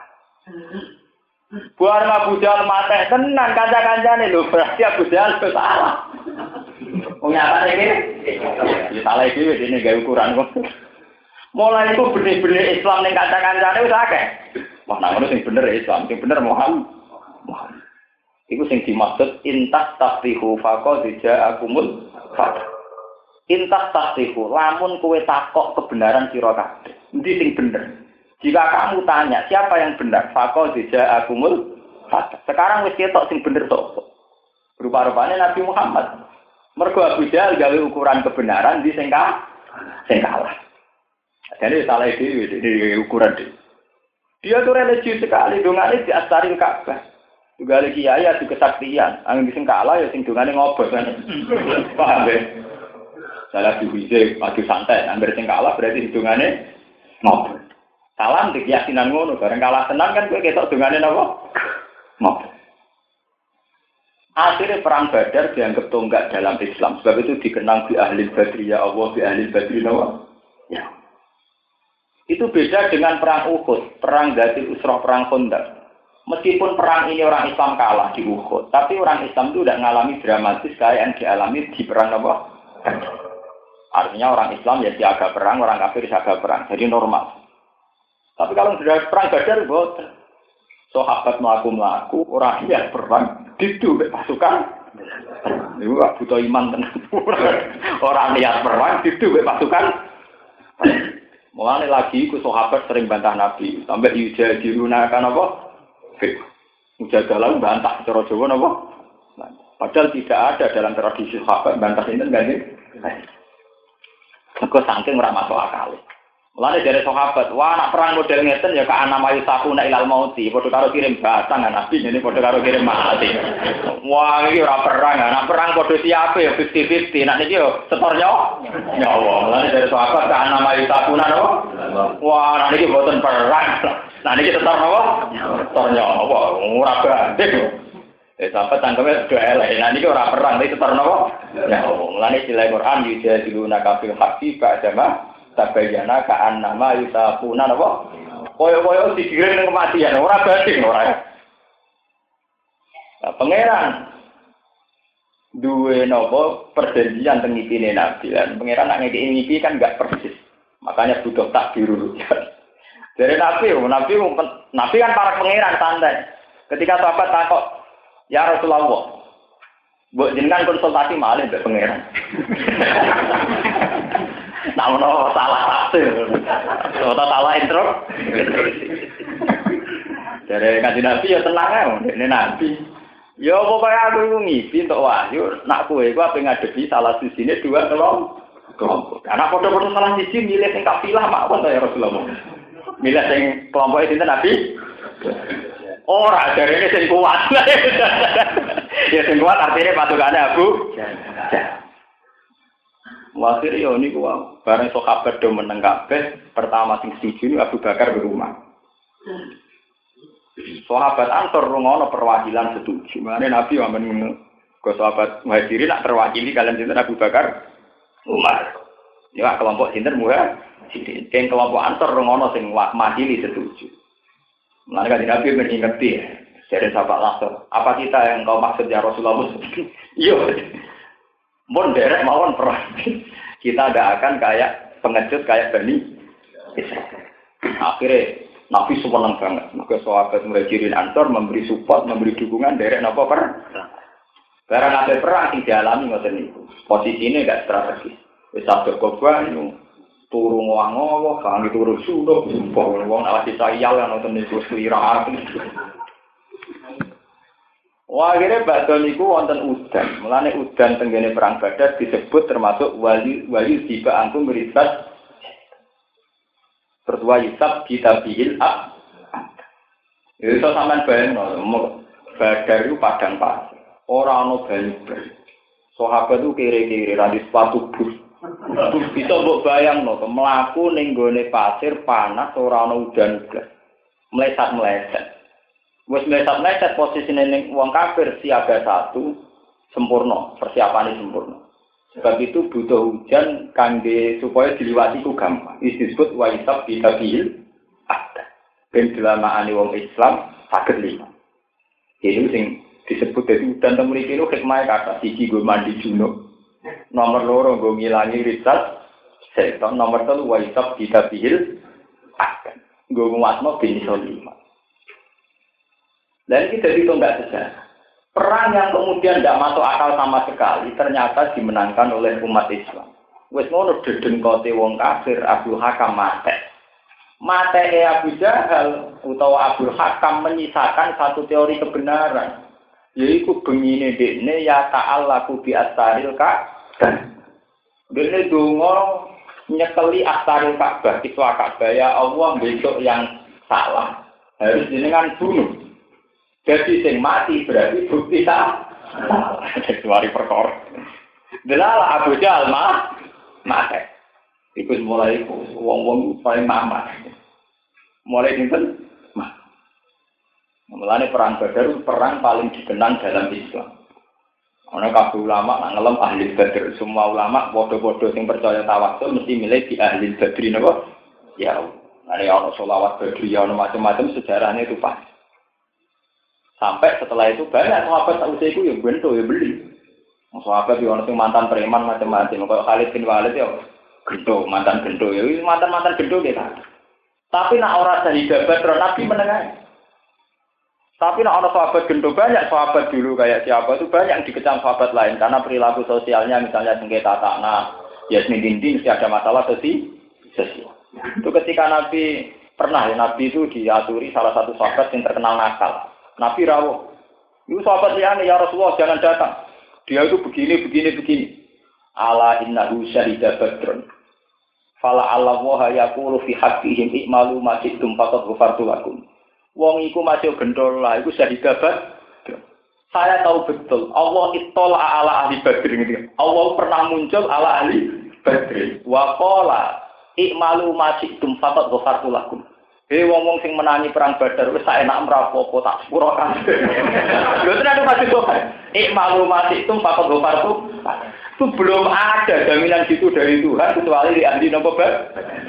A: Buar Abu Jahal mati tenan kanca-kancane lho berarti Abu Jahal salah. Wong nyata iki ya salah iki dene gawe ukuran kok. Mulai itu benih-benih Islam ning kanca-kancane wis akeh. Wah nang ngono sing bener Islam, sing bener Muhammad. Muhammad. Iku sing dimaksud intas tasrihu faqad ja'akumul fath. Intas tasrihu lamun kowe takok kebenaran sira kabeh. Endi sing bener? Jika kamu tanya siapa yang benar, faqad ja'akumul fath. Sekarang wis ketok sing bener sapa? Rupa-rupane Nabi Muhammad. Mergo Abu Jahal gawe ukuran kebenaran di sing kalah. Jadi salah dhewe di ukuran dhewe. Dia tuh religius sekali, dongane di astaril Ka'bah. Juga lagi kiai adu kesaktian, angin sing kalah ya sing dongane ngobos kan. Paham ya? Salah diwise adu santai, angger sing kalah berarti dongane ngobos. Salam di keyakinan ngono, bareng kalah tenan kan kowe ketok dongane napa? Ngobos. Akhirnya perang Badar dianggap tonggak dalam Islam. Sebab itu dikenang bi ahli badri ya Allah, bi ahli badri nawa. Ya. Itu beda dengan perang Uhud, perang Dzatul Usrah, perang Khandaq. Meskipun perang ini orang Islam kalah di Uhud, tapi orang Islam itu tidak mengalami dramatis kayak yang dialami di perang apa? Artinya orang Islam ya siaga perang, orang kafir siaga perang. Jadi normal. Tapi kalau sudah perang Badar, boten. Sahabat melaku-melaku, orang yang perang, itu pasukan. Itu gak butuh iman tenang. Orang niat perang, itu pasukan. Mulai lagi, ku sahabat sering bantah Nabi. Sampai Yuja dirunakan apa? Mujadalah bantah, cara Jawa apa? Padahal tidak ada dalam tradisi sahabat bantah ini, enggak nih? Aku saking ora masuk akal. Mulane dari sahabat, wah nak perang model ngeten ya ka ana mayu sakuna ilal mauti, padha karo kirim batang Nabi ini padha karo kirim mati. Wah iki ora perang, nak perang padha siape ya fifty fifty, nak niki yo setor nyawa. Nyawa. Mulane dari sahabat ka ana mayu sakuna napa? Wah nak niki boten perang. Nah niki setor napa? Setor nyawa. Ora banding. Eh sahabat tangkeme do elek, nah niki ora perang, iki setor napa? Nyawa. Mulane sila Quran yujadiluna kafil haqqi ba'dama tabayana ka'an nama yusafuna apa? Koyo-koyo digiring ning kematian, ora banding ora. Nah, pangeran duwe napa perjanjian teng ngipine Nabi lan pangeran nek ngeki ngipi kan enggak persis. Makanya butuh takdir rujuk. Dari Nabi, Nabi Nabi kan para pangeran santai. Ketika sahabat takut, "Ya Rasulullah, Mbok jenengan konsultasi malih mbek pangeran. Namun salah tafsir. Atau salah intro. Dari kanjeng Nabi ya tenang ae, ini Nabi. Ya pokoknya aku itu ngipi untuk wahyu, nak kowe iku ape ngadepi salah sisine dua kelompok. Karena padha-padha salah sisi milih sing kafilah mawon ya Rasulullah. Milih sing kelompok sinten Nabi? Ora jarene sing kuat. Ya sing kuat artinya patukane Abu Jahal. Wasir yo niku wae. Bareng sahabat do meneng kabeh, pertama sing setuju Abu Bakar di rumah. Sahabat Ansor rungono perwakilan setuju. Mane Nabi wamen ngono. Go sahabat Muhajirin nak terwakili kalian sinten Abu Bakar, Umar. Ya kelompok sinten Muhajirin. Keng kelompok Ansor rungono sing makili setuju. Mane kan Nabi ben ingeti dari sahabat Ansor. Apa kita yang kau maksud ya Rasulullah? Iya. Mun derek mawon perang. Kita tidak akan kayak pengecut kayak Bani Israil. Akhirnya Nabi senang banget. Maka sahabat Muhajirin Ansor memberi support, memberi dukungan derek napa perang. Barang ada perang yang dialami ngoten niku. Posisine enggak strategis. Wis sadar korban turu ngowang-ngowong, kang turu sunduk, sumpah wong awake sayal yang nonton niku selira. Wah, akhirnya bakal niku wonten udan. Mulane udan tenggene perang Badar disebut termasuk wali wali tiba angkum meribat. Tertua Yusuf kita bihil ab. Itu sampean bayangno, Badar itu padang pasir. Ora ana banyu. Sahabat itu kiri-kiri ra di sepatu bus. Bisa mbok bayangno, mlaku ning gone pasir panas ora ana udan blas. Meleset-meleset. Wes meleset-meleset posisine ning wong kafir siaga satu sempurna, persiapane sempurna. Sebab itu butuh hujan kangge supaya diliwati ku gampang. Iki disebut waisab bitabil ada. Ben dilamaane wong Islam saged lima. Iki sing disebut dadi udan teng mriki lho hikmah kata siji go mandi junub. Nomor loro go ngilangi risat. Seton nomor telu waisab bitabil ada. Go nguatno bin lima. Dan kita itu enggak sejarah. Perang yang kemudian tidak masuk akal sama sekali ternyata dimenangkan oleh umat Islam. Wes ngono dedengkote wong kafir Abu Hakam mate. Mate Abu Jahal utawa Abu Hakam menyisakan satu teori kebenaran. Yaitu bengine dekne ya ta'allaku bi astaril Ka'bah. Dekne donga nyekeli astaril Ka'bah, kiswa Ka'bah ya Allah besok yang salah harus jenengan bunuh. Jadi sing mati berarti bukti tak salah. Perkara. Delala Abu Jahal mah mati. Iku mulai wong-wong paling mamat. Mulai dinten mah. Mulane perang Badar perang paling dikenang dalam Islam. Ana kabeh ulama nak ngelem ahli Badar, semua ulama padha-padha sing percaya tawassul mesti milih di ahli Badri napa? Ya. Ada ana selawat Badri ana macam-macam sejarahnya itu pas. Sampai setelah itu banyak sahabat tak usah itu ya bento ya beli. Sahabat yang orang mantan preman macam-macam. Kalau Khalid bin Walid ya gendo mantan gendo ya mantan mantan gendo gitu. Tapi nak orang dari Badar Nabi menengah. Tapi nak orang sahabat gendo banyak sahabat dulu kayak siapa itu banyak yang dikecam sahabat lain karena perilaku sosialnya misalnya sengketa tanah, yasmin dinding mesti ada masalah sosial. Itu ketika Nabi pernah ya Nabi itu diaturi salah satu sahabat yang terkenal nakal. Nabi rawuh. Itu sahabat liane ya Rasulullah jangan datang. Dia itu begini begini begini. Ala innahu syahida badrun. Fala Allah wa yaqulu fi haqqihim i'malu ma shi'tum faqad ghafartu lakum. Wong iku masih gendol lah iku syahida badr. Saya tahu betul Allah ittala ala ahli badr gitu. Allah pernah muncul ala ahli badr. Wa qala i'malu ma shi'tum faqad ghafartu lakum. Hei wong-wong sing menangi perang Badar wis sak enak mrapopo tak sepuro kabeh. Lho tenan masih kok. Ik maklum masih itu fakot gopar itu. Itu belum ada jaminan gitu dari Tuhan kecuali di ahli nopo Badar.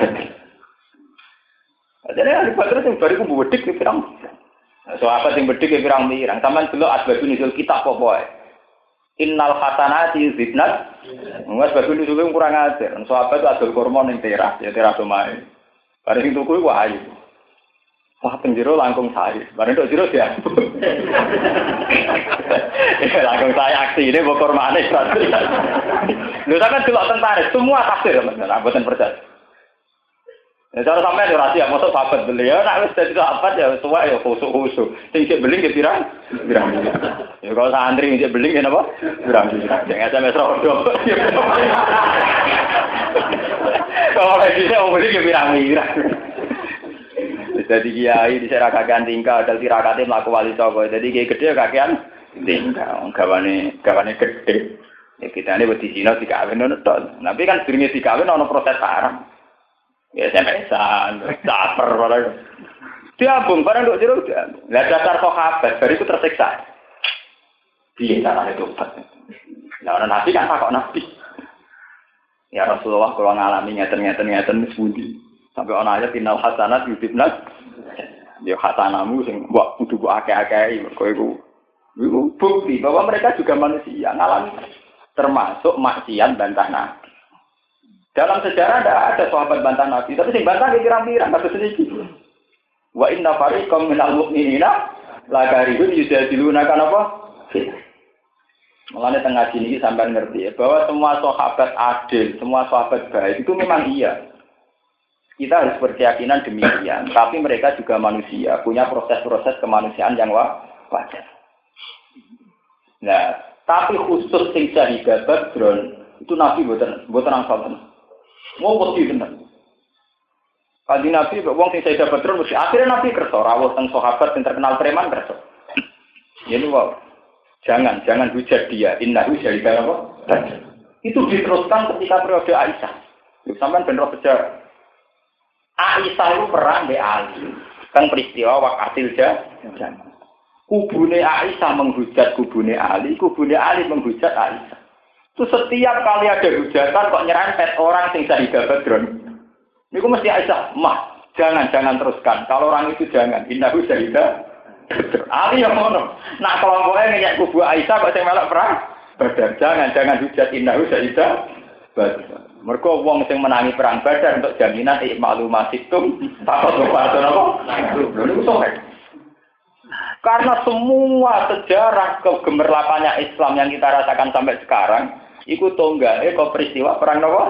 A: Jadi ahli Badar sing bariku bedik ki pirang. So apa sing bedik ki pirang mirang. Sampeyan delok asbabun nuzul kitab apa wae. Innal hasanati yuzibnat. Wes asbabun nuzul kurang ajar. So apa itu adol kurma ning teras, ya teras omahe. Bareng tuku iku ayu. Wah, penjero langkung saya. Bareng tok jero dia. Langkung saya aksi ini bokor manis. Lho sampean delok tentara semua tafsir sampean, mboten percaya. Ya cara sampean yo rahasia, mosok sahabat beliau nek wis dadi sahabat ya tuwa ya khusuk-khusuk. Sing sik beling ya pirang? Pirang. Ya kalau santri sing beling ya napa? Pirang. Sing S M S rodo. Kalau lagi saya mau beli ya pirang-pirang. Jadi kiai di sana kakean tingkah, ada tirakatnya melaku wali songo. Jadi kiai gede kakean tingkah, gawane gawane gede. Ya kita ini beti Cina dikawin nono ton. Tapi kan sebenarnya dikawin nono proses sarang. Ya S M S-an, caper barang. Diambung barang dok jeruk dia. Lihat dasar sahabat, baru itu tersiksa. Dia caranya tobat. Nah orang nabi kan takut nabi. Ya Rasulullah kalau ngalami ngeten-ngeten-ngeten sebuti. Sampai orang aja final hasanat yudibnas, ya hasanamu sing buat kudu buat akeh-akeh, mereka itu, itu bukti bahwa mereka juga manusia ngalami termasuk maksiat bantah nabi. Dalam sejarah tidak ada sahabat bantah nabi, tapi sing bantah kira-kira nggak sedikit. Wa inna fariqam minal mu'minina lakaribun yujadiluna kan apa? Mulane tengah sini sampai ngerti ya, bahwa semua sahabat adil, semua sahabat baik itu memang iya. Kita harus berkeyakinan demikian, tapi mereka juga manusia, punya proses-proses kemanusiaan yang wajar. Nah, tapi khusus sing syahidat Badron itu Nabi mboten mboten angsal tenan. Mau pasti tenan. Kanjeng Nabi wong sing syahidat Badron mesti akhirnya Nabi kersa rawuh teng sahabat sing terkenal preman kersa. Ini wow. Jangan jangan hujat dia, innahu syahidat apa? Itu diteruskan ketika periode Aisyah. Sampeyan ben roh sejarah. Aisyah itu perang di Ali, kan peristiwa wakatil jangan. Kubune Aisyah menghujat kubune Ali, kubune Ali menghujat Aisyah. Itu setiap kali ada hujatan kok nyerempet orang sing syahidah Badron. Niku mesti Aisyah, mah jangan jangan teruskan. Kalau orang itu jangan, innahu syahidah Badron. Ali yang ngono. Nah kelompoknya ngejak kubu Aisyah kok sing melok perang Badar. Jangan jangan hujat innahu syahidah Badron. Mergo wong sing menangi perang Badar untuk jaminan ikmalu masitum takut lupa apa? Lho sore. Karena semua sejarah kegemerlapannya Islam yang kita rasakan sampai sekarang iku tonggale kok peristiwa perang napa?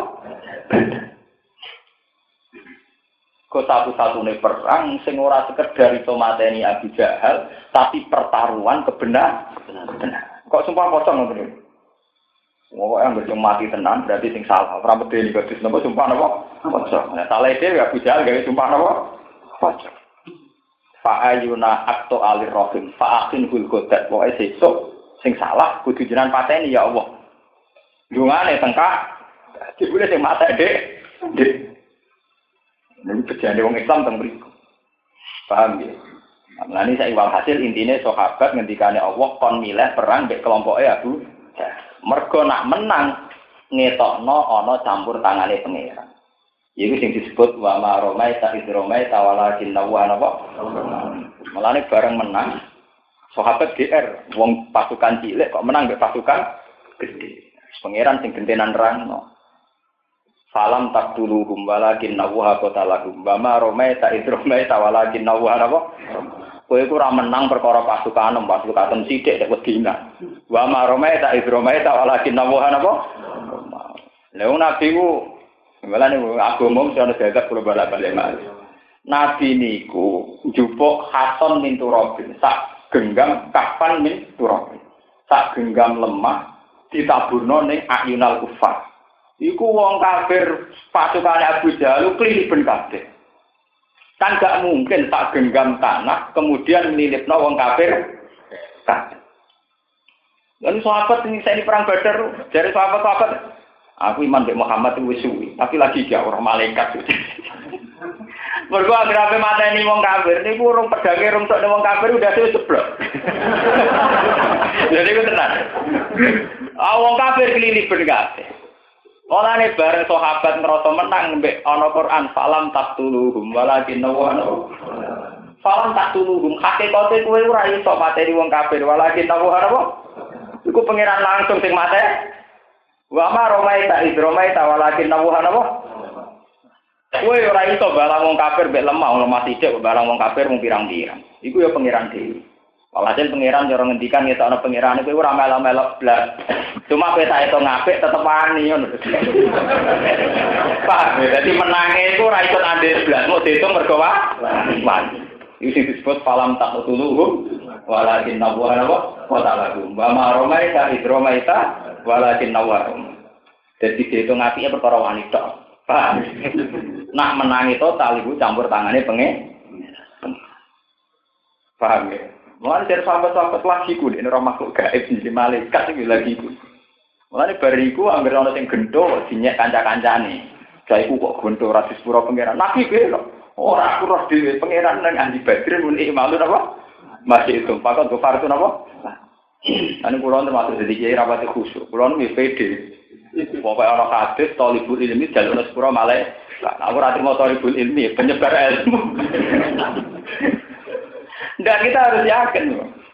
A: Kok satu-satunya perang sing ora sekedar iso mateni Abu Jahal tapi pertaruhan kebenar. Kok sumpah pocong ngono. Wong yang berjumpa mati tenan berarti sing salah. Ora medeni kudus napa sumpah napa? Pocong. Nah, salah dhewe Abu Jahal gawe sumpah napa? Pocong. Fa ayuna akto alir rahim fa akin hul godat. Pokoke sesuk sing salah kudu jenengan pateni ya Allah. Dungane tengkak dibule sing mata Dek. Dek. Nek bejane wong Islam teng mriku. Paham ya? Nah, ini saya iwal hasil intinya sahabat ngendikane Allah kon milih perang mbek kelompoke Abu Jahal. Mergo nak menang ngetokno ana campur tangane pangeran. Iku sing disebut wa ma romaita id romaita walakin nawa napa. Mulane bareng menang sahabat G R wong pasukan cilik kok menang mbek pasukan gede. Pangeran sing gentenan nerangno. Salam taqtuluhum walakin nawa qatalahum wa ma romaita id romaita walakin nawa napa. Kowe iku ora menang perkara pasukan pasukan sithik nek wedina. Wa maromai ta idromai ta walakin nawahan apa? Lha nabi ku malane agama mesti ana jagat kula balik-balik mas. Nabi niku njupuk Hasan min Turabin, sak genggam kapan min Turabin. Sak genggam lemah ditaburno ning ayunal kufar. Iku wong kafir pasukane Abu Jahal kliliben kabeh. Kan gak mungkin tak genggam tanah kemudian nilipno wong kafir kabeh. Lalu sahabat ini saya di perang Badar dari sahabat-sahabat aku iman mbek Muhammad wis suwi tapi lagi gak ora malaikat. Mergo agrape mateni wong kafir niku urung pedange rung tok wong kafir udah wis jeblok. Jadi ku tenan. Ah wong kafir keliliben kabeh. Olane bareng sahabat ngerasa menang mbek ana Quran salam taqtuluhum walakin nawana. Salam taqtuluhum hakikate kowe ora iso mateni wong kafir walakin nawana apa? Iku pangeran langsung sing mate. Wa ma romaita id romaita walakin nawana apa? Kowe ora iso barang wong kafir mek lemah, lemah sithik barang wong kafir mung pirang-pirang. Iku ya pangeran dhewe. Walhasil pangeran cara ngendikan ngetokno pangeran iku ora melok-melok blas. Cuma kowe sak itu ngapik tetep wani ngono. Pak, dadi menange iku ora iso andhe blas, mau diitung mergo wani. Iki disebut falam taqtuluhum walakin nawwara wa ta'alahum. Wa ma romaita idromaita walakin nawwara. Dadi diitung apike perkara wani tok. Pak. Nak menangi total iku campur tangane pengen. Paham ya? Mulane dari sahabat-sahabat lagi ku nek ora makhluk gaib sing malaikat iki lagi ku. Mulane bariku anggere ana sing gendho dinyek kanca-kancane. Jaiku kok gendho ora disepuro pangeran. Nabi piye kok ora aku roh dhewe pangeran nang andi badrin muni malu apa? Masih itu pakon go fartu napa? Ane kula termasuk dadi kiai rapat khusyuk. Kula nu pede. Pokoke ana hadis talibul ilmi jalur sepuro malaikat. Aku ora trimo talibul ilmi penyebar ilmu. Nggak, kita harus yakin.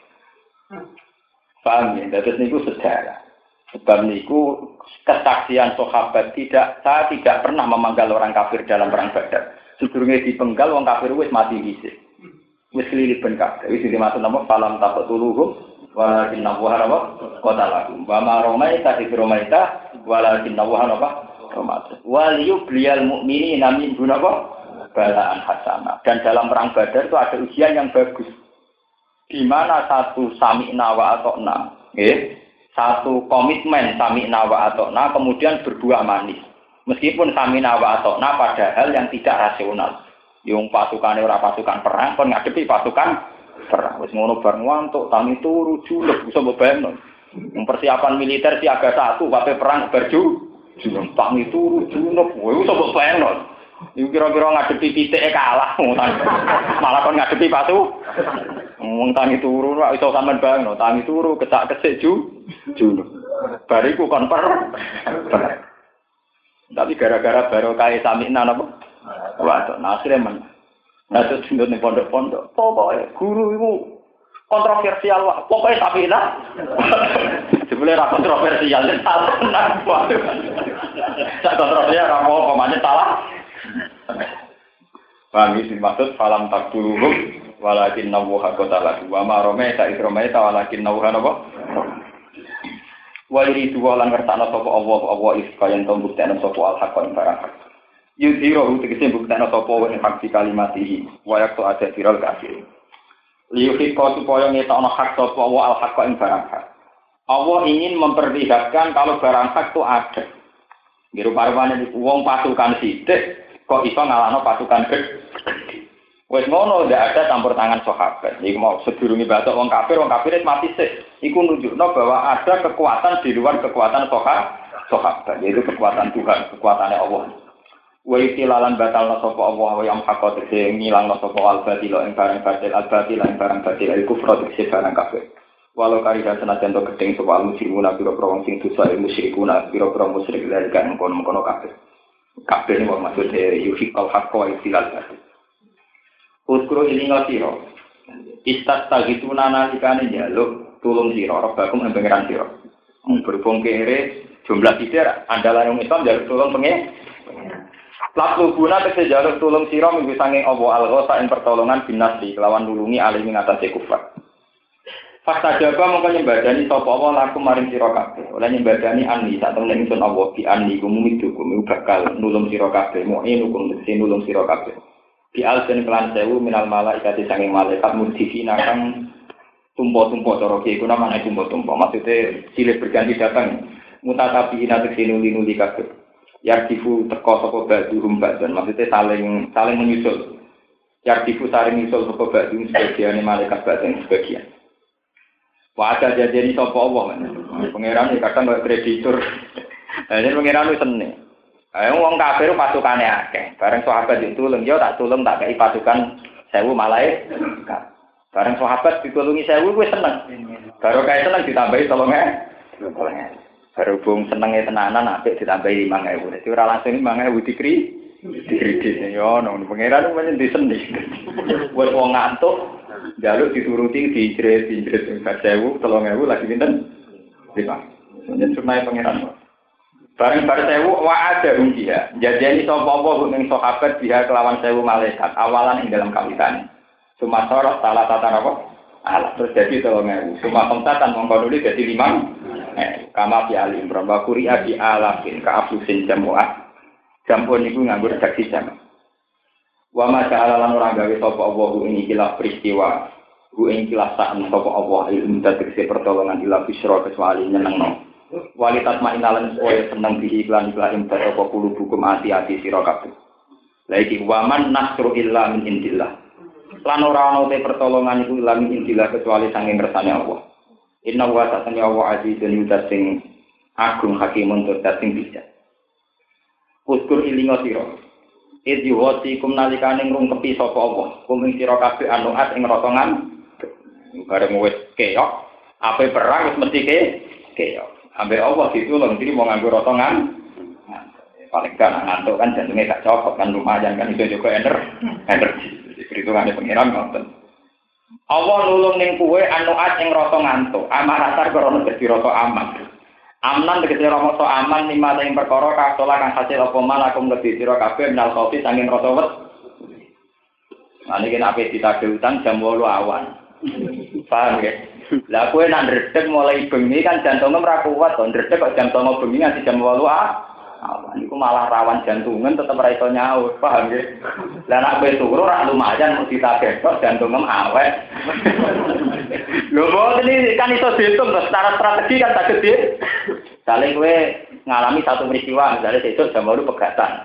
A: Paham ya? Terus niku sejarah. Sebab niku kesaksian sahabat tidak, saya tidak pernah memanggal orang kafir dalam perang Badar. Sedurunge dipenggal wong kafir wis mati dhisik. Wis liliben kabeh. Wis dimaksud napa falam taqtuluhum walakin nawwara wa qatalahum. Wa ma romaita id romaita walakin nawwara wa romaita. Wal yubliyal mu'minina min dunapa balaan hasanah. Dan dalam perang Badar itu ada ujian yang bagus. Di mana satu sami'na wa ata'na, nggih, satu komitmen sami'na wa ata'na kemudian berbuah manis. Meskipun sami'na wa ata'na padahal yang tidak rasional. Yung pasukane ora pasukan perang, kon ngadepi pasukan perang. Wis ngono bar ngantuk, tangi turu julep iso mbayangno. Persiapan militer siaga satu, kabeh perang berju, julep tangi turu julep, kowe iso mbayangno. Iku kira-kira ngadepi titike kalah, malah kon ngadepi patu. Wong tangi turu ora iso sampean bangno, tangi turu kecak-kecik ju juno. Bariku kon per. Tapi gara-gara barokah sami'na napa? Waduh, nasire men. Nah terus ning pondok-pondok, pokoke guru iku kontroversial wae. Pokoke sami'na. Jebule ra kontroversial, salah tenan. Sak kontroversial ra apa pamane salah. Paham iki maksud falam takduluhum walakin nawwaha qatalahu wa ma romaita idromaita walakin nawwaha napa wa yuridu lan ngertakno sapa Allah Allah iskayan to buktekno sapa al-haq ing barang hak yudhiru tegese buktekno sapa wa ing hak kalimatihi wa yaktu ada viral kafir liyuhiko supaya ngetokno hak sapa Allah al-haq ing barang hak Allah ingin memperlihatkan kalau barang hak itu ada ngiru parwane wong pasukan sithik kok iso ngalahno pasukan gede. Wes ngono ndak ada campur tangan sahabat. Iku mau sedurunge batok wong kafir, wong kafir mati sik. Iku nunjukno bahwa ada kekuatan di luar kekuatan sahabat, yaitu kekuatan Tuhan, kekuatannya Allah. Wa itilalan batalna sapa Allah wa yang hakot sing ngilangno sapa al-batil ing barang batil al-batil ing barang batil iku kufur sing barang kafir. Walau karidan senajan to gedeng sapa al-musyrikun pira-pira wong sing dosa musyrikun pira-pira musyrik lan kan kono-kono kafir. Kabeh ini maksudnya yuhikal hakka wa istilal batil. Uskuro ini ngasiro. Istat tagituna nalikane njaluk tulung sira rebakum ing pangeran sira. Berhubung kere jumlah sithik andalan wong Islam njaluk tulung pengen. Lalu guna tegese njaluk tulung sira minggu sanging Allah al-ghasa ing pertolongan binasi kelawan nulungi alim ing atase kufar. Fakta jaga mongko nyembadani sapa Allah laku maring sira kabeh. Oleh nyembadani anni sak temen ingsun Allah bi anni gumumi dukum bakal nulung sira kabeh mu'in hukum sing nulung sira kabeh. Bi alsen kelan sewu minal malaikat sanging malaikat mudhifina kang tumpo-tumpo cara iki kuna maneh tumpo-tumpo. Maksude silih berganti datang mutatabiina teksin nuli-nuli kabeh. Yardifu teko sapa badhum badhan maksude saling saling menyusul. Yardifu saling menyusul sapa badhum sebagian malaikat badhan sebagian. Wadah jadi sapa Allah kan. Pangeran iki kadang kaya kreditur. Lah yen pangeran wis seneng. Ayo wong kafir pasukane akeh. Bareng sahabat ditulung yo tak tulung tak kei pasukan seribu malaikat. Bareng sahabat ditulungi seribu wis seneng. Baru kae seneng ditambahi tolong e. Berhubung senenge tenanan apik ditambahi lima ribu. Dadi ora langsung lima ribu dikri dikredit yo nang pangeran men disendhi. Wis wong ngantuk jaluk dituruti dijret dijret seribu, tolong ribu lagi pinten? lima. Jadi sunai pangeran. Bareng bar sewu wa ada dia. Jadiani sapa apa ning sahabat dia kelawan sewu malaikat awalan ing dalam kawitan. Cuma sorot salah tata apa? Alah terus jadi tolong ewu. Cuma pemtatan mongko nuli jadi lima. Eh, kama fi alim berapa kuria di alafin ka afusin jamuah. Jampun niku nganggo redaksi jam. Wa ma ta'ala lan ora gawe sapa Allah ing ikilah peristiwa. Ku ing ikilah sak sapa Allah ilmu tegese pertolongan ila bisra kecuali nyenengno. Walitat ma'inalan supaya seneng bihi iklan iklan imbat apa kulu hukum hati-hati sira kabeh. Lagi waman nasru illa min indillah. Lan ora ana te pertolongan iku illa min indillah kecuali sanging ngersane Allah. Inna wa ta'ala wa azizun yudassing agung hakimun tur dating bijak. Uskur ilinga sira. Idzi wati kum nalikane ngrungkepi sapa Allah. Kum ing sira kabeh anuat ing rotongan. Bareng wis keok, ape perang wis mesti ke keok. Ambil Allah ditulung, jadi mau nganggur rotongan, paling kan ngantuk kan jantungnya gak cocok kan lumayan kan itu juga ener, energi. Perhitungannya pengiran nonton. Allah nulung ning kuwe anuat yang rasa ngantuk, amarasar korona jadi rasa aman. Amnan tegese rasa aman lima ing perkara kasola kang hasil apa malakum lebih sira kabeh menal kopi saking rasa wet. Nah niki nek ape ditagih utang jam wolu awan. Paham ya? Lah kowe nak ndredeg mulai bengi kan jantungnya ora kuat to, ndredeg kok jam songo bengi nganti jam wolu ah. Awan niku malah rawan jantungan tetep ora iso nyaur, paham nggih? Lah nak kowe turu ora lumayan mesti ditagih kok jantungem awet. Lho mboten iki kan iso diitung secara strategi kan tak gede. Sale kowe ngalami satu peristiwa misalnya sesuk jam wolu pegatan.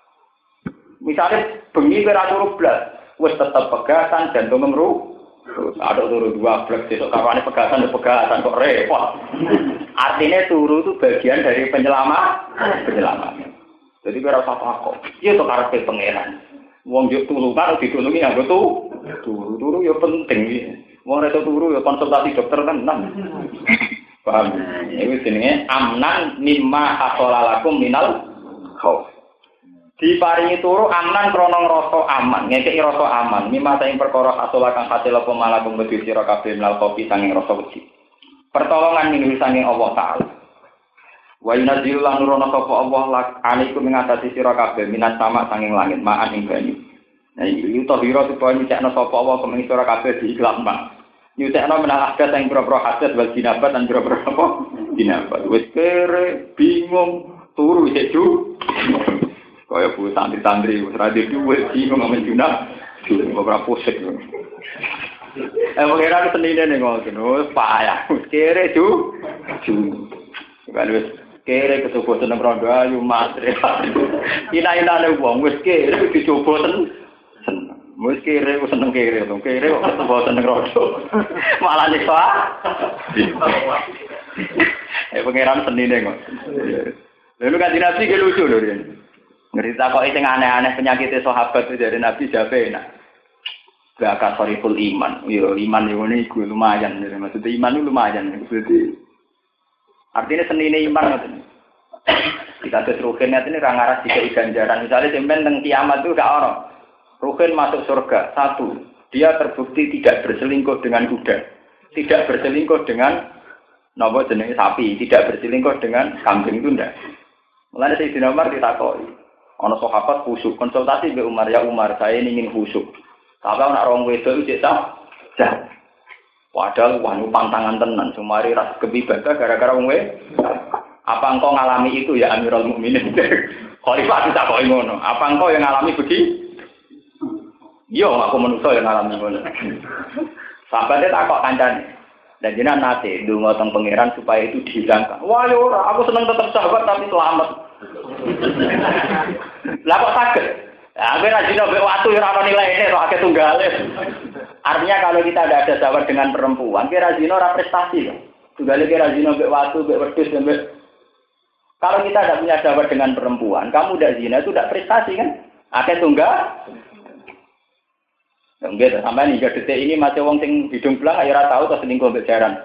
A: Misalnya bengi kowe ora turu blas, wis tetep pegatan jantungem ru. Terus ada turu dua blok, besok kapan pegatan pegatan kok repot. Artinya turu itu bagian dari penyelamat, penyelamat. Jadi kira apa kok? Iya tuh karakter pangeran. Wong juk turu kan ditulungi yang betul. Turu turu ya penting. Wong reto turu ya konsultasi dokter kan nang. Paham? Ini jenenge amnan mimma hasolalakum minal khauf. Diparingi turu aman krana ngrasa aman, ngekeki rasa aman. Mimma saing perkara asala kang hasil apa malakum wedi sira kabeh mlal kopi sanging rasa wedi. Pertolongan ning sanging Allah taala. Wa yunazzilu lan nurono sapa Allah lak alaikum ing atase sira kabeh minat sama sanging langit ma'an ing banyu. Nah iki tahira supaya nyekno sapa Allah kemeng sira kabeh diikhlas mak. Nyutekno menal adat sing pro-pro hadat wal jinabat lan pro-pro apa? Jinabat. Wis kere bingung turu seju. Kaya bu santri-santri, seradi duit, bingung ngamen junah, beberapa pusing. Eh, mengira ke senine nih ngomong, payah, kere ju, ju. Kalau wis kere kecoba seneng rondo ayu matre. Ina-ina nih uang, wis kere kecoba seneng, seneng. Wis kere wis seneng kere, dong kere kok kecoba seneng rondo. Malah nyiksa. Eh, pengiran senine ngomong. Lalu kan dinasti ke lucu loh dia. Ngerita kok sing aneh-aneh penyakitnya sahabat itu dari Nabi jabe enak. Gak soriful iman. Yo iman yo ngene iku lumayan. Maksudnya iman itu lumayan. Jadi artinya senine iman ngoten. Kita terus ruhin ini ra ngaras dikai ganjaran. Misalnya sampean teng kiamat itu gak ono. Ruhin masuk surga. Satu, dia terbukti tidak berselingkuh dengan kuda. Tidak berselingkuh dengan napa jenenge sapi, tidak berselingkuh dengan kambing itu ndak. Mulane Sayyidina Umar ditakoki. Ana sahabat khusyuk konsultasi mbek Umar, ya Umar, saya ingin khusyuk. Tapi ana rong wedok iki cek jah. Padahal wanu pantangan tenan, sumari ras kebibadah gara-gara wong apa engkau ngalami itu ya Amirul Mukminin? Khalifah ditakoki ngono. Apa engkau yang ngalami begitu? Yo, aku manusia yang ngalami ngono. Sahabatnya takok kancane. Dan jenengan nate ndonga teng pangeran supaya itu dihilangkan. Wah, yo ora, aku seneng tetap sahabat tapi selamat. Lah kok saged? Ya, gue rajin obek waktu ora ono nilaine kok akeh tunggale. Artinya kalau kita tidak ada sahabat dengan perempuan, kira zina ora prestasi loh. Tunggale kira zina obek waktu, obek wedhus sampai. Kalau kita tidak punya sahabat dengan perempuan, kamu udah zina itu tidak prestasi kan? Akeh tunggal. Enggak, sampai hingga detik ini masih wong sing hidung belang ayo ora tau to selingkuh mbek jaran.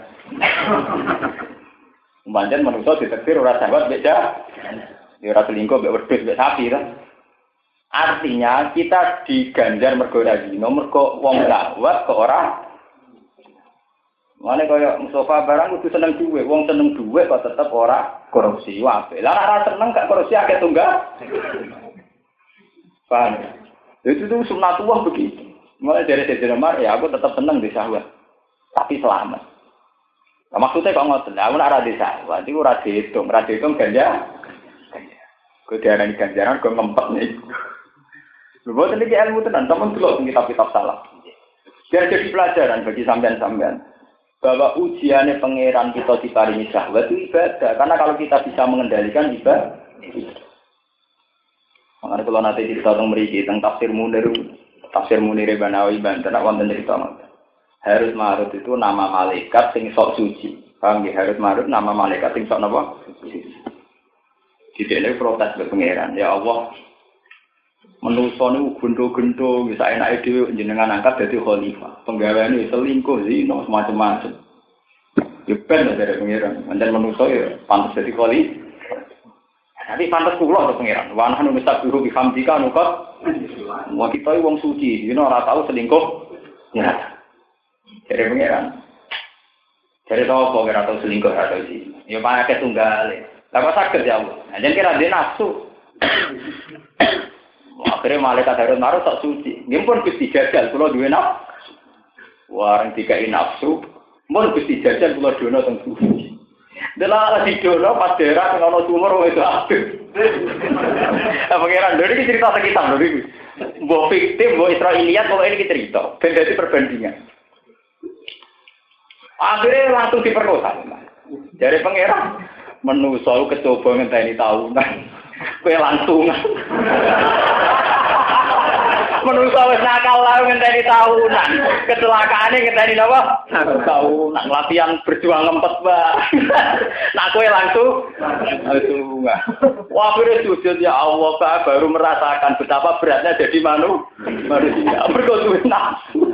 A: Pancen manusa ditektir ora sahabat mbek jaran. Ya ora selingkuh mbek wedhus mbek sapi kan. Artinya kita diganjar mergo ora zina, mergo wong lawat kok ora. Mane kaya Mustafa barang kudu seneng duwe, wong seneng duwe kok tetep ora korupsi wae. Lah ora seneng gak korupsi akeh tunggal. Paham? Itu tuh sunatullah begitu. Mulai dari sejarah mar, ya aku tetap seneng di syahwat. Tapi selamat. Nah, maksudnya kok ngoten, aku ora di syahwat, iku ora dihitung, ora dihitung ganja. Kok diarani ganjaran kok ngempet nih. Lha boten iki ilmu tenan, sampeyan delok kitab-kitab salaf. Biar jadi pelajaran bagi sampean-sampean. Bahwa ujiannya pangeran kita diparingi syahwat itu ibadah. Karena kalau kita bisa mengendalikan ibadah. Makanya kalau nanti kita tentang meriki tentang tafsir Munir, tafsir Munir Banawi Banten, nak wonten cerita mas. Harut Marut itu nama malaikat sing sok suci. Paham ya? Harut Marut nama malaikat sing sok napa? Jadi ini protes ke pangeran. Ya Allah, menuso niku gendo-gendo bisa enake dhewe jenengan angkat dadi khalifah. Penggaweane selingkuh zina macam-macam. Ya ben dari pangeran. Mandan menuso ya pantes dadi khalifah. Nanti pantes kula to pangeran. Wa nahnu nusabihu bi hamdika nukat. Wa kita wong suci, dina ora tau selingkuh. Ya. Dari pangeran. Dari tau kok ora tau selingkuh ora tau sih. Ya pakai tunggale. Lah kok saged ya Allah. Jan kira dhe nafsu. Akhirnya malaikat Harut Marut tak suci. Nggih pun Gusti jajal kula duwe nafsu. Warang dikai nafsu, mun Gusti jajal kula dono teng suci. Delah di dono pas daerah sing ana sumur wis adus. Apa kira lho iki cerita sekitar lho iki. Mbok fiktif, mbok Israiliyat kok ini cerita. Ben dadi perbandingan. Akhirnya langsung diperkosa. Dari pangeran menuso kecoba ngenteni tahunan. Kowe langsung. Menuso wis nakal lah ngenteni tahunan. Kecelakaane ngenteni napa? Tahunan latihan berjuang ngempet, Mbak. Nak kowe langsung langsung. Wah, akhirnya sujud ya Allah, Pak, baru merasakan betapa beratnya jadi manu manusia. Berkoduwe nafsu.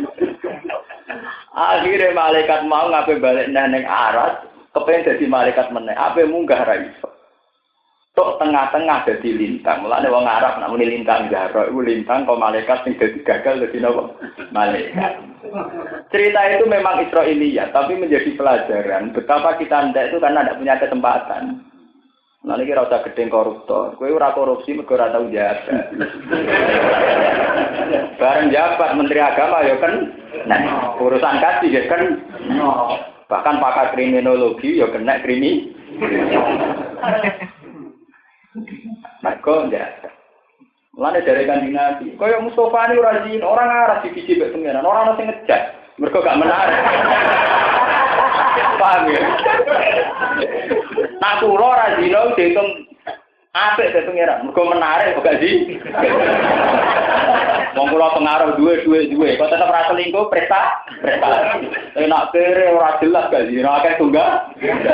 A: Akhirnya malaikat mau ngapain balik neng aras, kepengen jadi malaikat meneh. Apa munggah ra iso. Tok tengah-tengah jadi lintang. Mulane wong Arab nak muni lintang jaro, iku lintang kok malaikat sing dadi gagal dadi napa? Malaikat. Cerita itu memang Israiliyat, tapi menjadi pelajaran betapa kita ndak itu karena tidak punya kesempatan. Nah ini kira usah gedeng koruptor. Kowe ora korupsi mergo ora tau jabat. Bareng jabat Menteri Agama ya kan. Nah, urusan kaji ya kan. Bahkan pakar kriminologi ya kena krimi. Mergo jabat. Mulane dari Kanjeng Nabi, kaya Mustofa ini ora zina, orang arah dibiji mek pengenan, ora ono sing ngejak. Mergo gak menarik. Paham ya? Nak kula ora zina diitung apik te pengeran, mergo menarik kok gak di. Wong kula pengaruh duwe-duwe-duwe, kok tetep ra selingkuh presta, prestasi. Enak kere ora jelas gak zina, akeh tunggal.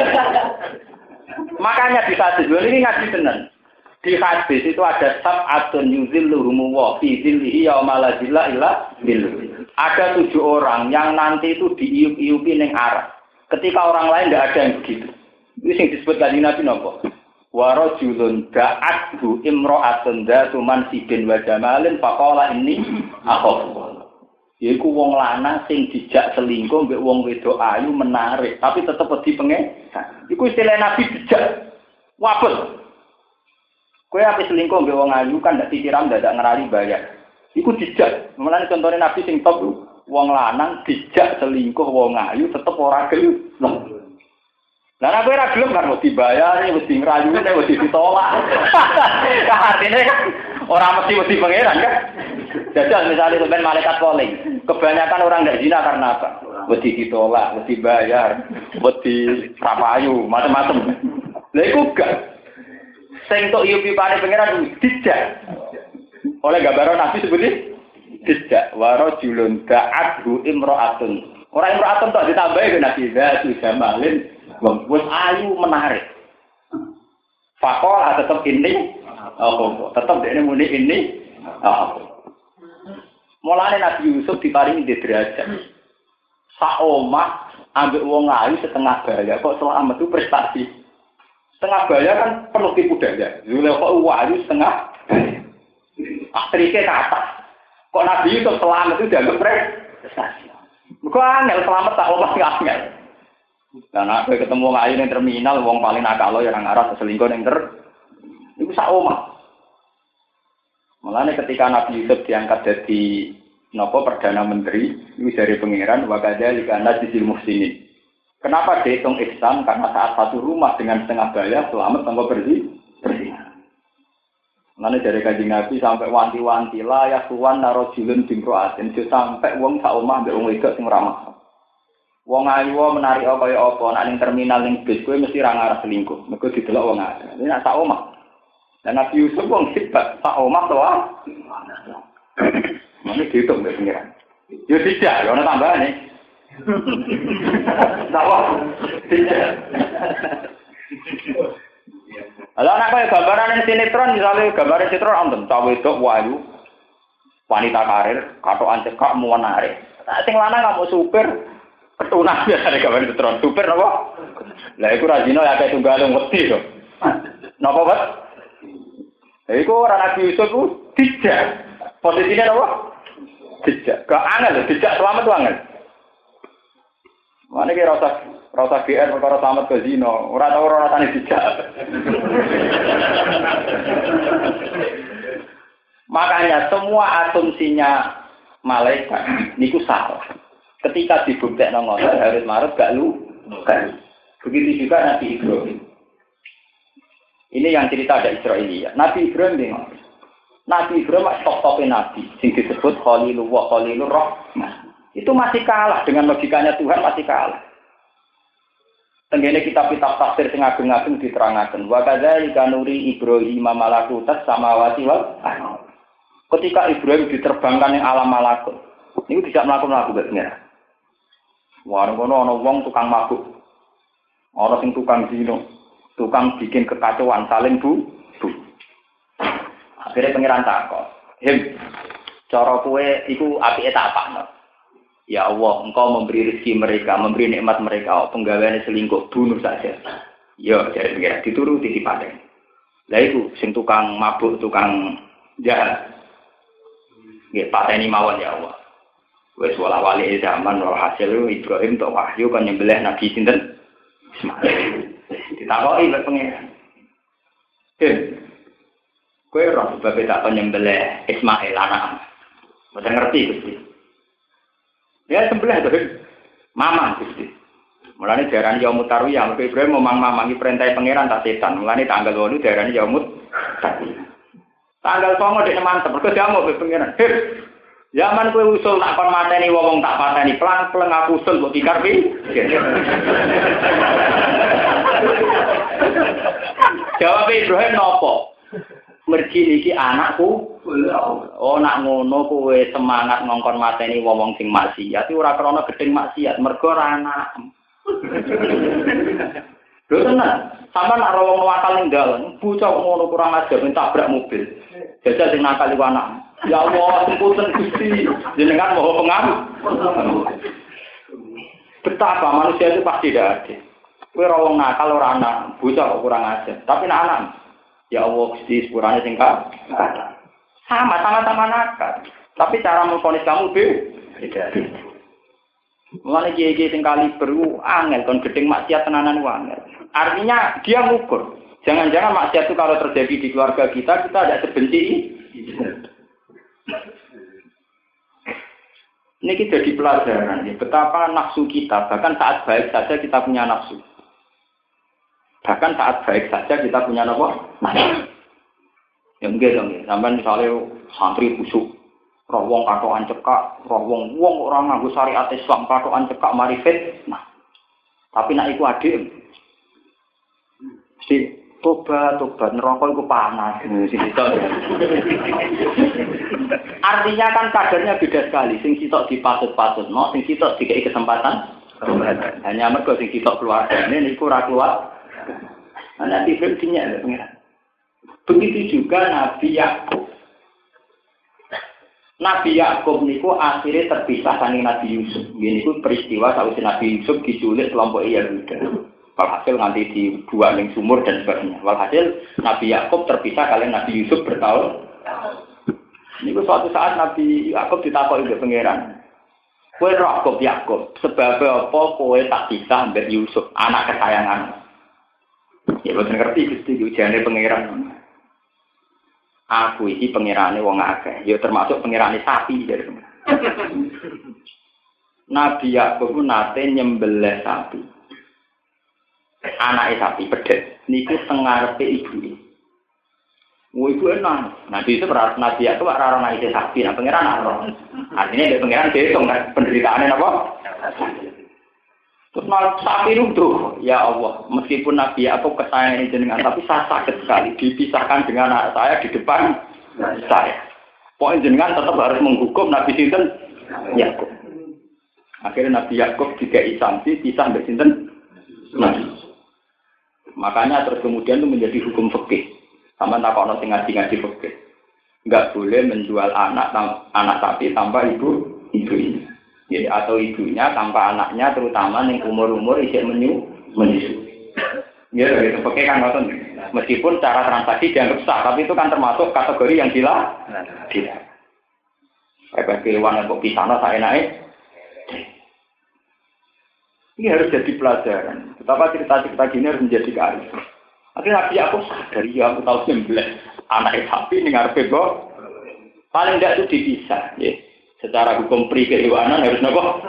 A: Makanya di hadis ini ngaji tenan. Di hadis itu ada sab'atun yuzilluhumu wa fi zillihi yauma la zilla illa zilluh. Ada tujuh orang yang nanti itu diiup-iupi ning arah. Ketika orang lain tidak ada yang begitu. Itu yang disebut Kanjeng Nabi napa? Wa rajulun da'athu imra'atun dzatu mansibin wa jamalin faqala inni akhafu. Yaiku wong lanang sing dijak selingkuh mbek wong wedok ayu menarik, tapi tetep wedi pengen. Iku istilah Nabi dijak. Wabes. Kowe ape selingkuh mbek wong ayu kan ndak disiram ndak ngerali bayar. Iku dijak. Mulane contone Nabi sing top wong lanang dijak selingkuh wong ayu tetep ora gelem. Lah nek ora gelem kan mesti bayar, mesti ngrayu, nek mesti ditolak. Artine ora mesti mesti pangeran kan. Jajal misalnya sampean malaikat calling. Kebanyakan orang ndak zina karena apa? Mesti ditolak, mesti bayar, mesti rapayu, macam-macam. Lha iku gak sing tok yupi pane pangeran dijak. Oleh gambaran Nabi seperti dijak waro julun da'athu imra'atun. Ora imra'atun tok ditambahi ke Nabi dzatu jamalin wis ayu menarik. Faqala tetep ini oh tetep dene muni ini oh. Mulane Nabi Yusuf diparingi derajat. Sak omah ambek wong ayu setengah baya kok selamat itu prestasi. Setengah bayar kan penuh tipu daya. Zulekha wahyu setengah. Akhirnya ke atas. Kok Nabi Yusuf selamat itu dianggap prestasi. Kok angel selamat tak omah gak angel. Karena aku ketemu ngayu ning terminal wong paling nakal lo yang arah selingkuh ning ter iku sak omah. Mulane ketika Nabi Yusuf diangkat jadi nopo perdana menteri, itu dari pangeran wakada likana sisil muhsinin. Kenapa dihitung ihsan? Karena saat satu rumah dengan setengah bayar selamat tanpa bersih bersih. Mulane dari Kanjeng Nabi sampai wanti-wanti lah ya suwan narojulun bingkroatin sampai wong sak omah mbek wong wedok sing ramah. Wong ayu menarik kaya apa nek ning terminal ning bis kowe mesti ra ngarep selingkuh. Mergo didelok wong akeh. Ini nek sak omah. Dan Nabi Yusuf wong sifat sak omah to ah. Mane dihitung mbek pengiran. Yo tidak, yo ana tambahane. Tahu? Tidak. Ala anak kaya gambaran sinetron misalnya gambar sinetron anten cawe wedok wayu wanita karir katokan cekak menarik. Nah sing lanang kamu supir ketunah biasa gambar sinetron supir napa? Lah iku rajino ya kayak tunggal wedi to. Napa, Pak? Iku ora Nabi Yusuf ku tidak. Posisinya apa? Tidak. Gak angel, tidak selamat tuh angel. Mana kira rasa rasa G R perkara selamat ke zino. Ora tau ora rasane tidak. Makanya semua asumsinya malaikat niku salah. Ketika dibuktekno ngoten harus marut gak lu. Begitu juga Nabi Ibrahim. Ini yang cerita ada Israiliyah. Nabi Ibrahim bingung. Nabi Ibrahim top-topnya Nabi. Yang disebut Khalilullah, Khalilur Rahman. Itu masih kalah. Dengan logikanya Tuhan masih kalah. Tenggene kitab-kitab tafsir sing ageng-ageng diterangkan. Wa kadzalika nuri Ibrahim malakutat samawati wal ardh. Ketika Ibrahim diterbangkan yang alam malakut. Ini tidak melakukan benar. Wah, ngono ana wong tukang mabuk. Ana sing tukang zina. Tukang bikin kekacauan saling bu, bu. Akhirnya pengiran takut. Him, cara kue iku apike tak apakno. Ya Allah, engkau memberi rezeki mereka, memberi nikmat mereka, penggaweane selingkuh, bunuh saja. Ya, jadi pengiran dituruti dipaten. Lah iku sing tukang mabuk, tukang jahat. Nggih pateni mawon ya Allah. Wis wala wali zaman ora hasil Ibrahim tok wahyu kan nyembelih Nabi sinten? Ismail. Ditakoki lek pengen. Eh. Kowe ora sebab tak nyembelih Ismail anak. Mboten ngerti Gusti. Ya sembelih to, Mamang Gusti. Mulane diarani yaumut tarwiyah, mergo Ibrahim memang mamangi perintah pangeran tak setan. Mulane tanggal wolu diarani yaumut tarwiyah. Tanggal songo dek mantep, mergo diamuk be pangeran. Heh. Zaman kowe usul tak kon mateni wong tak pateni, pelan-pelan aku usul mbok pikir pi. Jawab Ibrahim nopo? Mergi iki anakku. Oh nak ngono kowe semangat ngongkon mateni wong sing maksiat, ora krana gedeng maksiat, mergo ora anak. Lho tenan, sampean nek wong nakal ning dalan, bocah ngono kurang ajar mentabrak mobil. Jajal sing nakal iku anak. Ya Allah, sempunten Gusti, jenengan mau pengaruh. Betapa manusia itu pasti tidak adil. Kowe ora wong nakal ora anak, bocah kurang ajar. Tapi nek anak, ya Allah Gusti sepurane sing ka. Sama sama-sama nakal. Tapi cara memvonis kamu beda. Mulane kiye-kiye sing kali beru angel kon gedeng maksiat tenanan angel. Artinya dia ngukur. Jangan-jangan maksiat itu kalau terjadi di keluarga kita, kita tidak sebenci ini. Ini kita jadi pelajaran ya, betapa nafsu kita, bahkan saat baik saja kita punya nafsu. Bahkan saat baik saja kita punya nafsu. Ya enggak dong, sampai misalnya santri busuk, roh wong katokan cekak, roh wong wong orang nganggo syariat Islam katokan cekak marifat. Nah, tapi nak iku adil. Si tobat tobat neraka iku panas artinya kan kadarnya beda sekali. Sing sitok dipatut-patut, no, sing sitok dikei kesempatan. Hanya mergo sing sitok keluargane niku ora keluar. Ana diferensinya ya, pengiran. Begitu juga Nabi Yakub. Nabi Yakub niku akhirnya terpisah dari Nabi Yusuf. Ini niku peristiwa sausé Nabi Yusuf diculik kelompok Yahuda. Walhasil nanti dibuang ning sumur dan sebagainya. Walhasil Nabi Yakub terpisah kalian Nabi Yusuf bertahun. Ini suatu saat Nabi Yakub ditakoki oleh pangeran. Kowe roh kok Yakub, sebab apa kowe tak bisa mbek Yusuf, anak kesayangan. Ya boten ngerti Gusti ujane pangeran. Aku iki pangerane wong akeh, ya termasuk pangerane sapi dari. Nabi Yakub nate nyembelih sapi. Anake sapi pedet niku teng ngarepe ibuke. Wo iku enak. Nabi itu beras Nabi Yakub ora ora nang sapi, nah pangeran ora. Artinya dia pangeran dihitung kan penderitaannya apa? Terus malah sapi itu, ya Allah, meskipun Nabi Yakub kesayangan jenengan, tapi saya sakit sekali dipisahkan dengan anak saya di depan saya. Pokoknya jenengan tetap harus menghukum Nabi Sinten Yakub. Akhirnya Nabi Yakub dikai sanksi pisah dari Sinten Nabi. Makanya terus kemudian itu menjadi hukum fikih. Sama tak kono sing ngaji-ngaji fikih. Enggak boleh menjual anak anak sapi tanpa ibu ibunya. Jadi atau ibunya tanpa anaknya, terutama yang umur-umur isih menyu menyusu. Ya, gitu. Fikih kan ngoten. Meskipun cara transaksi dianggap sah, tapi itu kan termasuk kategori yang gila. Gila. Kayak kewan kok pisana saya naik. Ini harus jadi pelajaran. Betapa cerita-cerita gini harus menjadi kearifan. Akhirnya Nabi aku sadar, ya aku tahu nyembelih anak sapi ini ngarepe kok. Paling tidak itu dipisah, ya. Secara hukum pri kehewanan harus nopo.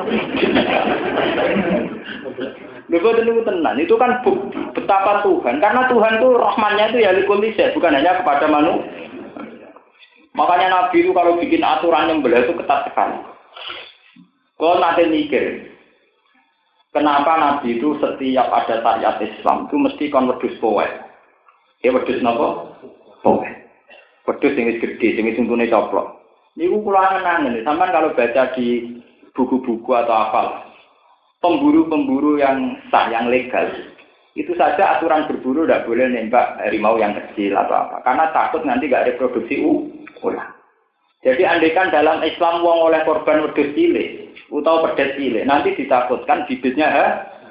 A: Lho itu tenan, itu kan bukti betapa Tuhan, karena Tuhan itu rahmannya itu ya likul lisya, bukan hanya kepada manusia. Makanya Nabi itu kalau bikin aturan nyembelih itu ketat sekali. Kalau nanti mikir, kenapa Nabi itu setiap ada syariat Islam itu mesti kon wedhus poe. Ya wedhus napa? Poe. Wedhus sing wis gedhe, sing wis untune coplok. Niku kula angen-angen, sampean kalau baca di buku-buku atau apa, pemburu-pemburu yang sah, yang legal, itu saja aturan berburu tidak boleh nembak harimau yang kecil atau apa, karena takut nanti nggak reproduksi ulang. Jadi andaikan dalam Islam wong oleh korban wedhus cilik atau pedet cilik, nanti ditakutkan bibitnya ha?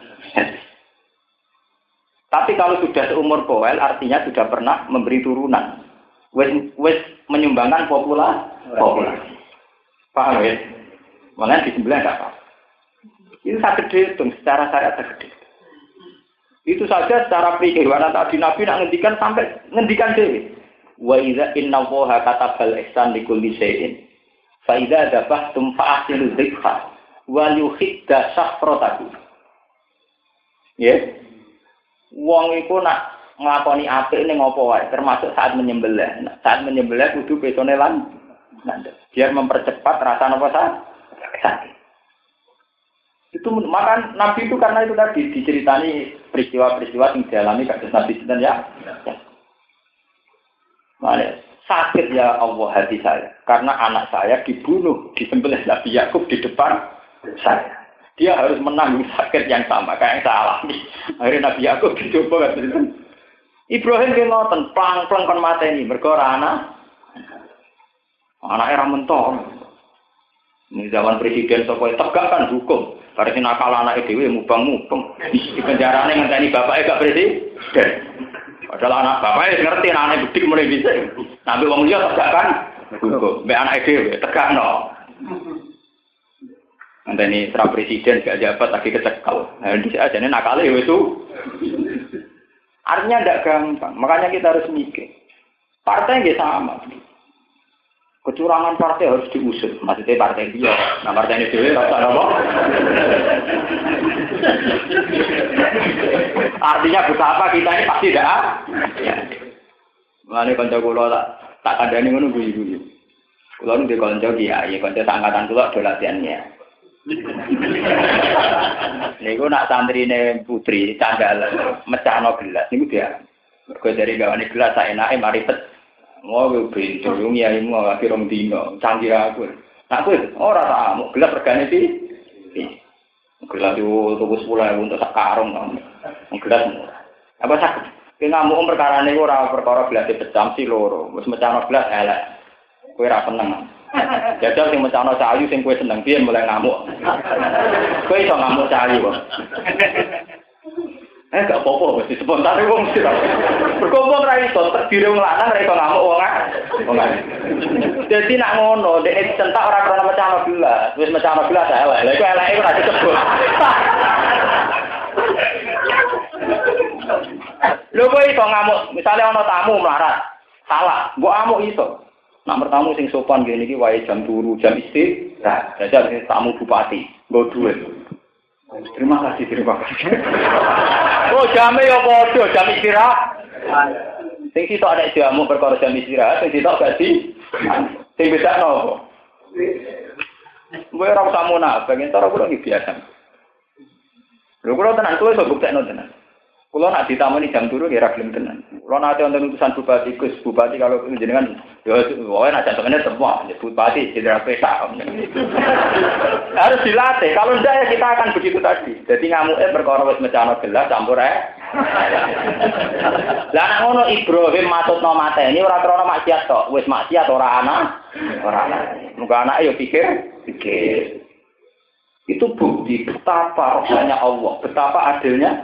A: Tapi kalau sudah seumur poel, artinya sudah pernah memberi turunan. Wes wes menyumbangkan populasi, populasi. Paham ya? Malah disembelih enggak apa. Itu sangat gede, dong. Secara syariat sangat gede. Itu saja secara kehewanan tadi Nabi nak ngendikan sampai ngendikan dewi. Wa idza inna Allaha katabal ihsan li kulli shay'in. Fa idza dabahtum fa'tilu dzikra wa yuhidda safratahu. Ya. Wong iku nak nglakoni apik ning apa wae, termasuk saat menyembelih. Saat menyembelih kudu petone lan biar mempercepat rasa napa sakit. Itu maka Nabi itu karena itu tadi diceritani peristiwa-peristiwa yang dialami kados Nabi sinten ya. Mane sakit ya Allah hati saya karena anak saya dibunuh, disembelih Nabi Yakub di depan saya. Dia harus menanggung sakit yang sama kayak yang saya alami. Akhirnya Nabi Yakub dicoba kan. Ibrahim ki ngoten, plang-plang kon mateni mergo anak. Anake ra mentok. Ini zaman presiden sapa tegak kan hukum. Karena si nakal anake dhewe mubang-mubang. Di penjarane ngenteni bapake gak presiden. Padahal anak bapake ngerti anake bedik mulai bisa. Nabi wong liya tegak kan hukum. Mbek anake dhewe tegakno. Ngenteni tra presiden gak jabat lagi kecekal. Nah, di ajane nakale wis itu. Artinya tidak gampang, makanya kita harus mikir. Partai nggak sama. Kecurangan partai harus diusut. Maksudnya partai dia, nah partai ini dewe rasa apa? Artinya betapa kita ini pasti tidak. Ya. Mengenai konco kulo tak tak ada nih menunggu ibu. Kulo nih di konco dia, ya konco angkatan kulo do latihannya. Niku nak santrine putri candal mecahno gelas niku dia. Mergo dari gawane gelas sak enake mari pet. Ngono pintu ya imu lagi rong dino canggih aku. Nak kowe ora ta mau gelas regane iki. Gelas itu tuku sepuluh ribu untuk sak karung kan. Gelas murah. Apa sakit? Ki ngamuk perkarane ora perkara gelas pecah si loro. Wis mecahno gelas elek. Kowe ora seneng. Jajal sing mecahno cahayu sing kowe seneng piye mulai ngamuk. Kowe iso ngamuk cahayu kok. Eh gak apa-apa mesti spontan wong mesti. Berkumpul ra iso terdiri wong lanang ra iso ngamuk wong ah. Wong lanang. Dadi nak ngono, dek dicentak ora krono mecah gelas. Wis mecah gelas elek. Lah iku eleke ora disebut. Lho kok iso ngamuk, misale ana tamu melarat. Salah, mbok amuk iso. Nak bertamu sing sopan ngene iki wae jam turu, jam istirahat. Jajal tamu bupati, nggo dhuwit. Terima kasih, terima kasih. Oh, jamnya ya bodoh, jam istirahat. Sing sitok ada jamu perkara jam istirahat, sing sitok gak di. Sing bisa nopo. Gue ora usah munafik, entar kula iki biasa. Lho kula tenan tuwa iso buktekno tenan. Kula nak ditamoni jam turu ya ra gelem tenan. Kula nate wonten utusan bupati, Gus Bupati kalau jenengan ya wae nak jantungnya semua, bupati jenderal pesa. Harus dilatih. Kalau ndak ya kita akan begitu tadi. Jadi ngamuke perkara wis mecano gelas campur ae. Lah nek ngono Ibrahim matutno mateni ora krana maksiat tok, wis maksiat ora ana, ora ana. Muga anake yo pikir, pikir. Itu bukti betapa rahmatnya Allah, betapa adilnya.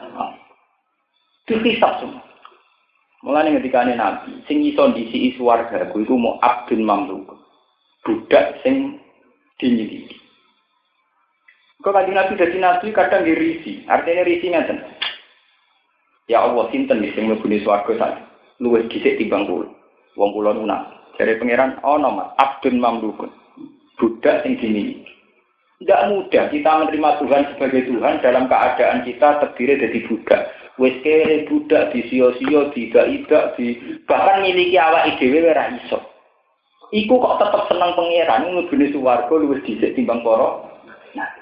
A: Dihisab semua. Mulane ngendikane Nabi, sing iso ndisi swarga ku iku mau abdun mamluk. Budak sing dinyiliki. Kok kanjeng Nabi dadi nabi kadang dirisi, artinya risi ngeten. Ya Allah, sinten sing mlebune swarga sak luwih dhisik timbang kula. Wong kula nunak. Jare pangeran ana Mas, abdun mamluk. Budak sing dinyiliki. Tidak mudah kita menerima Tuhan sebagai Tuhan dalam keadaan kita terdiri dari budak. Wes kere budak di sio-sio, di idak-idak, di bahkan miliki awak dhewe ora iso. Iku kok tetep seneng pangeran mlebune swarga luwih dhisik timbang para nabi.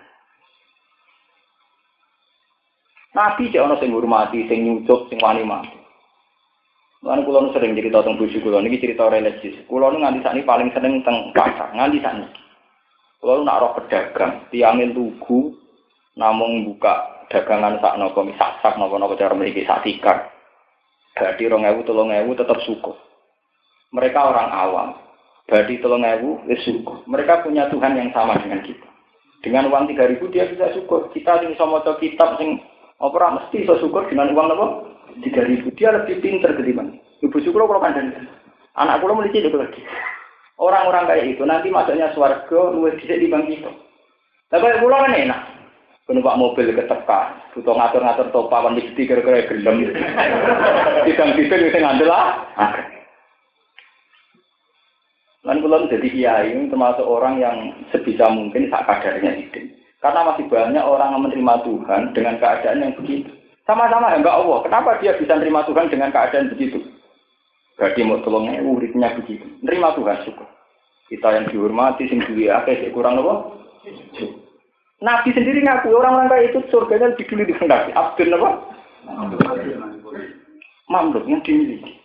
A: Nabi cek ana sing ngurmati, sing nyucuk, sing wani mati. Lan kula nu sering cerita tentang bojo kula niki cerita religius. Kula nu nganti sakniki paling seneng teng pasar, nganti sakniki. Kalau nak roh pedagang, tiangin lugu, namung buka dagangan sak nopo misak sak nopo nopo cara memiliki sak tikar. Berarti rong ewu tolong ewu tetap syukur. Mereka orang awam. Berarti tolong ewu wis syukur. Mereka punya Tuhan yang sama dengan kita. Dengan uang tiga ribu dia bisa syukur. Kita sing iso maca kitab sing ora mesti iso syukur dengan uang nopo tiga ribu. Dia lebih pintar ketimbang. Ibu syukur kalau kandhani. Anak kula mulai cilik lagi. Orang-orang kayak itu nanti masuknya swarga luwih dhisik timbang kita. Lah kaya kula kan enak. Numpak mobil ketekan, butuh ngatur-ngatur topawan mesti kira-kira gelem. Tidang-tidang wis ngandel ah. Lan kula jadi kiai termasuk orang yang sebisa mungkin sak kadarnya hidup. Karena masih banyak orang yang menerima Tuhan dengan keadaan yang begitu. Sama-sama hamba Allah. Kenapa dia bisa menerima Tuhan dengan keadaan begitu? Berarti mau tolongnya uripnya begitu. Nerima Tuhan syukur. Kita yang dihormati, sing duwe akeh kurang apa? Nabi sendiri ngaku orang-orang kayak itu surganya lebih dulu dikendaki. Abdul apa? Mamluk yang dimiliki.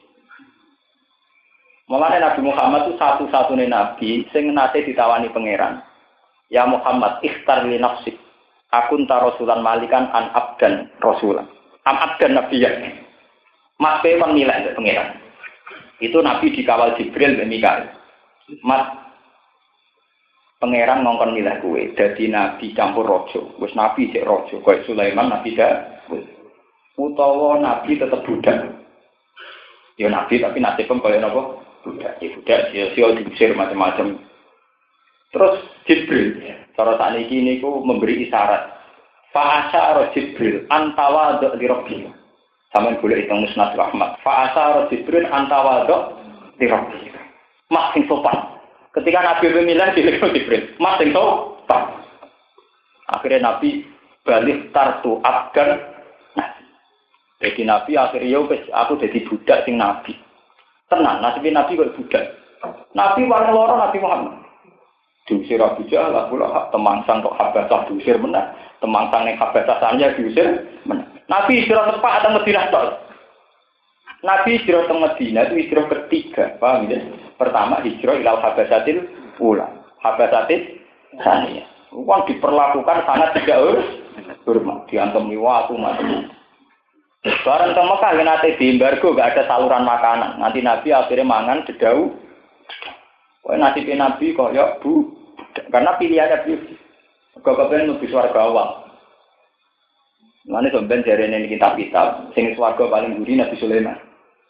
A: Mulanya Nabi Muhammad itu satu-satunya nabi sing nate ditawani pangeran. Ya Muhammad, ikhtar li nafsik. Akun ta rasulan malikan an abdan rasulan. Am abdan nabiyyan. Mas pe memilih pangeran. Itu Nabi dikawal Jibril dan Mikail. Mas, pangeran ngongkon milah kue. Jadi Nabi campur rojo. Wes Nabi cek rojo. Kayak Sulaiman Nabi dah. Utawa Nabi tetap budak. Ya Nabi tapi nasibnya kayak apa? Budak. Ya budak. Sio-sio diusir macam-macam. Terus Jibril. Cara saat ini ku memberi isyarat. Fa'asyara Jibril antawa di Rabbi. Sama boleh hitung musnad rahmat. Fa'asar Jibril antawadok dirabbi. Mas sing sopan. Ketika Nabi pemilihan dilekno Jibril. Mas sing sopan. Akhirnya Nabi balik tartu abdan. Nah, jadi Nabi akhirnya aku jadi budak sing Nabi. Tenang, nasibnya Nabi kok budak. Nabi paling loro Nabi Muhammad. Diusir Abu Jahal, Abu Lahab, temangsang kok Habasah diusir menang. Temangsang yang Habasahnya diusir menang. Nabi hijrah tepat atau Madinah tol. Nabi hijrah ke Madinah itu hijrah ketiga, paham ya? Pertama hijrah ilal habasatil ula, habasatil saniyah. Uang diperlakukan sangat tidak hormat, diantem waktu macam. Barang ke Mekah yang nanti di embargo gak ada saluran makanan. Nanti Nabi akhirnya mangan dedau. Wah nasibnya Nabi kok ya bu, karena pilihannya bu, kau kepengen lebih swarga awal. Mulane sampeyan jarene ning kitab-kitab sing swarga paling buri Nabi Sulaiman.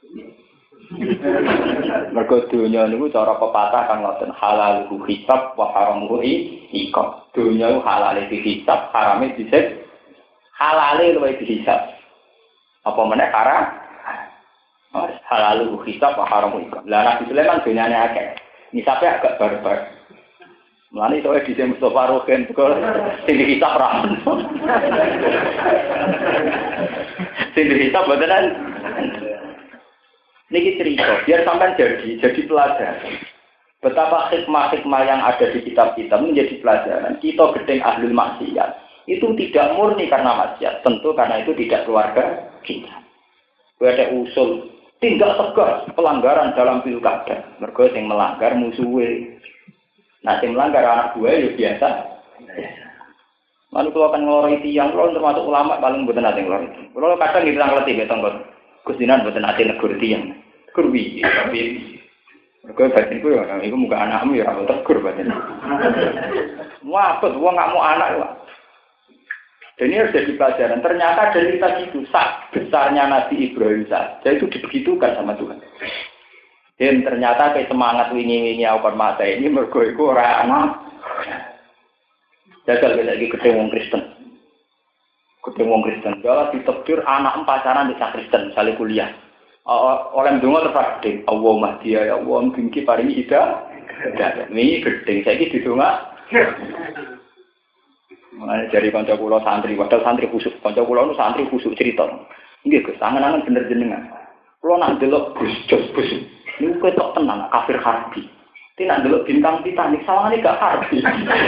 A: Mergo dunya niku cara pepatah kan ngoten halal hisab wa haramuhu iqab. Dunya ku halale dihisab, harame disik. Halale luwih dihisab. Apa meneh haram? Halal hisab wa haramuhu iqab. Lah Nabi Sulaiman dunyane akeh. Hisabe agak barbar. Mulane iso di Mustafa Rogen kok sing dihisab ra. Sing dihisab beneran. Niki cerita, biar sampai jadi, jadi pelajaran. Betapa hikmah-hikmah yang ada di kitab-kitab menjadi pelajaran. Kita gedeng ahlul maksiat. Itu tidak murni karena maksiat. Tentu karena itu tidak keluarga kita. Ada usul, tindak tegas pelanggaran dalam pilkada. Mergo sing melanggar musuhe. Nah, yang melanggar anak gue ya biasa. Lalu kalau akan ngelorong tiang, kalau termasuk ulama paling bukan nanti ngelorong itu. Kalau kadang kita ngelatih betong kan, kusinan bukan nanti negur tiang, kurbi, tapi mereka batin itu ya, itu muka anakmu ya rambut tegur batin. Wah, betul, nggak mau anak lah. Dan ini harus jadi pelajaran. Ternyata dari kita itu sak besarnya Nabi Ibrahim saja itu dibegitukan sama Tuhan. Dan ternyata kayak semangat wingi-wingi aku mata ini mergo iku ora ana. Jajal lagi ketemu wong Kristen. Ketemu wong Kristen, kalau ditakdir anak pacaran di Kristen, misalnya kuliah. Oleh ndonga terus gede, Allahumma dia ya Allah mungkin paringi ida. Ini gede, saiki didonga. Mulane dari kanca kula santri, padahal santri khusuk. Kanca kula nu santri khusuk cerita. Nggih, Gus, angen-angen bener jenengan. Kula nak delok Gus Jos Gus. Niku ketok tenan kafir harbi. Tidak delok bintang Titanic sawangane gak harbi.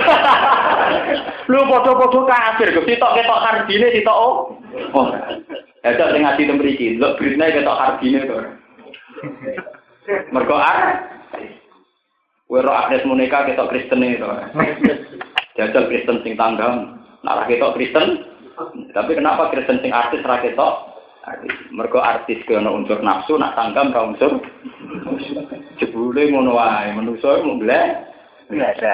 A: Lu padha-padha kafir, ketok ketok harbine sitok oh. Oh. Ada sing ngaji temriki, delok beritane ketok harbine to. Mergo ar Wero Agnes Monica ketok Kristene to. Jajal Kristen sing tanggang, nak ra ketok Kristen. Tapi kenapa Kristen sing artis ra ketok? Mergo artis ke ana unsur nafsu, nak tanggam ra unsur jebule ngono wae, manusa mung blek biasa.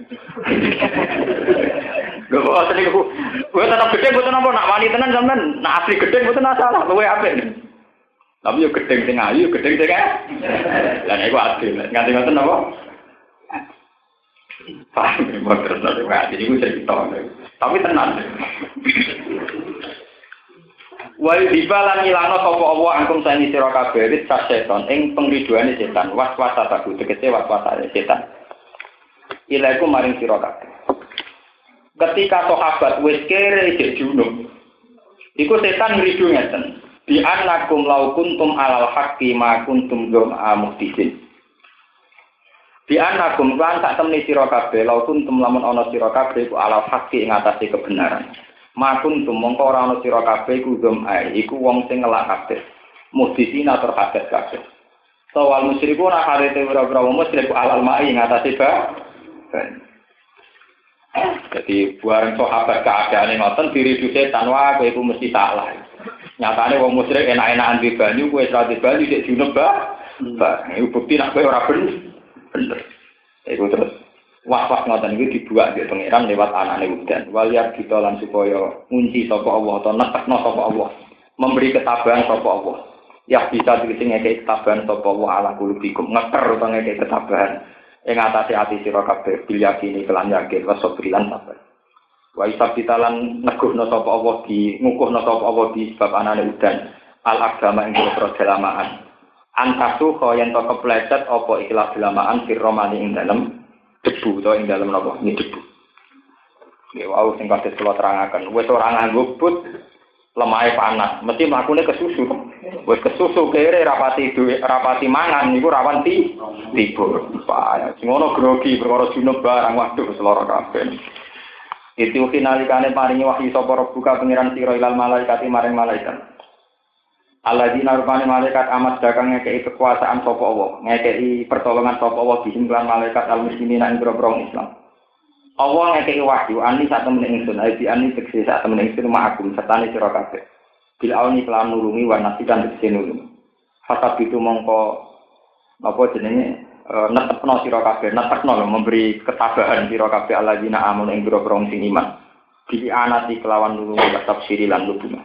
A: Gak apa asli ku. Kowe tetep gedhe mboten napa nak wani tenan sampean, nak asli gedhe mboten masalah, luwe apik. Tapi yo gedhe sing ayu, gedhe sing ah. Lah nek ku adil, nganti ngoten napa? Paham mboten terus nek iki cerita. Tapi tenan. Wa dibalan ngilangno sapa Allah angkum saini sira kabeh wis setan ing pengriduane setan was-wasa taku tegese was-wasane setan. Ilaiku maring sira kabeh. Ketika sahabat wis kere isih junub, iku setan ngridu ngeten. Bi annakum law kuntum alal haqqi ma kuntum jum'a muhdisin. Bi annakum lan sak temne sira kabeh law kuntum lamun ana sira kabeh iku alal haqqi ing atase kebenaran. Makun tumongko ora ana sira kabeh iku gum ae iku wong sing ngelak kabeh muhdisina terhadap kabeh sawal musyriku ora karete ora-ora musyrik alal mai ngatasi ba jadi buareng sahabat keadaane ngoten diridu setan wae kowe iku mesti salah nyatane wong musyrik enak-enakan di banyu kowe ora di banyu sik junub ba iku bukti nek kowe ora bener bener iku terus was-was ngoten iki dibuak mbek pangeran lewat anane udan. Waliyar kita lan supaya ngunci sapa Allah atau nekno sapa Allah. Memberi ketabahan sapa Allah. Ya bisa dikene ngekek ketabahan sapa Allah ala kulubikum. Ngeker utawa ngekek ketabahan ing atase ati sira kabeh bil yakini kelan yakin wasobrilan sabar. Wa isab ditalan neguhno sapa Allah di ngukuhno sapa Allah di sebab anane udan. Al agama ing boro dalamaan. Antasu kaya ento kepleset apa ikhlas dalamaan firromani ing dalem debu to ing dalem napa ini debu. Ya wau sing kados kula terangaken, wis ora nganggo but lemahe panas, mesti mlakune kesusu. Wis kesusu kere rapati duwe rapati mangan niku rawan ti tibur. Pak, sing ono grogi perkara junub barang waduh seloro kabeh. Itu finalikane paringi wahyu sapa buka pengiran sira ilal malaikati maring malaikat. Alladzina rupane malaikat amat dagang ngekei kekuasaan sapa Allah, ngekei pertolongan sapa Allah dihimplan malaikat al-muslimin ing grobong Islam. Allah ngekei wahyu ani sak temene ingsun, ai ani tekse sak temene ingsun ma'akum sertane sira kabeh. Bil auni kelan nulungi wa nasikan tekse nulungi. Fatab itu mongko apa jenenge netepno sira kabeh, netepno lho memberi ketabahan sira kabeh alladzina amun ing grobong sing iman. di anati kelawan nulungi tafsiri lan lubungan.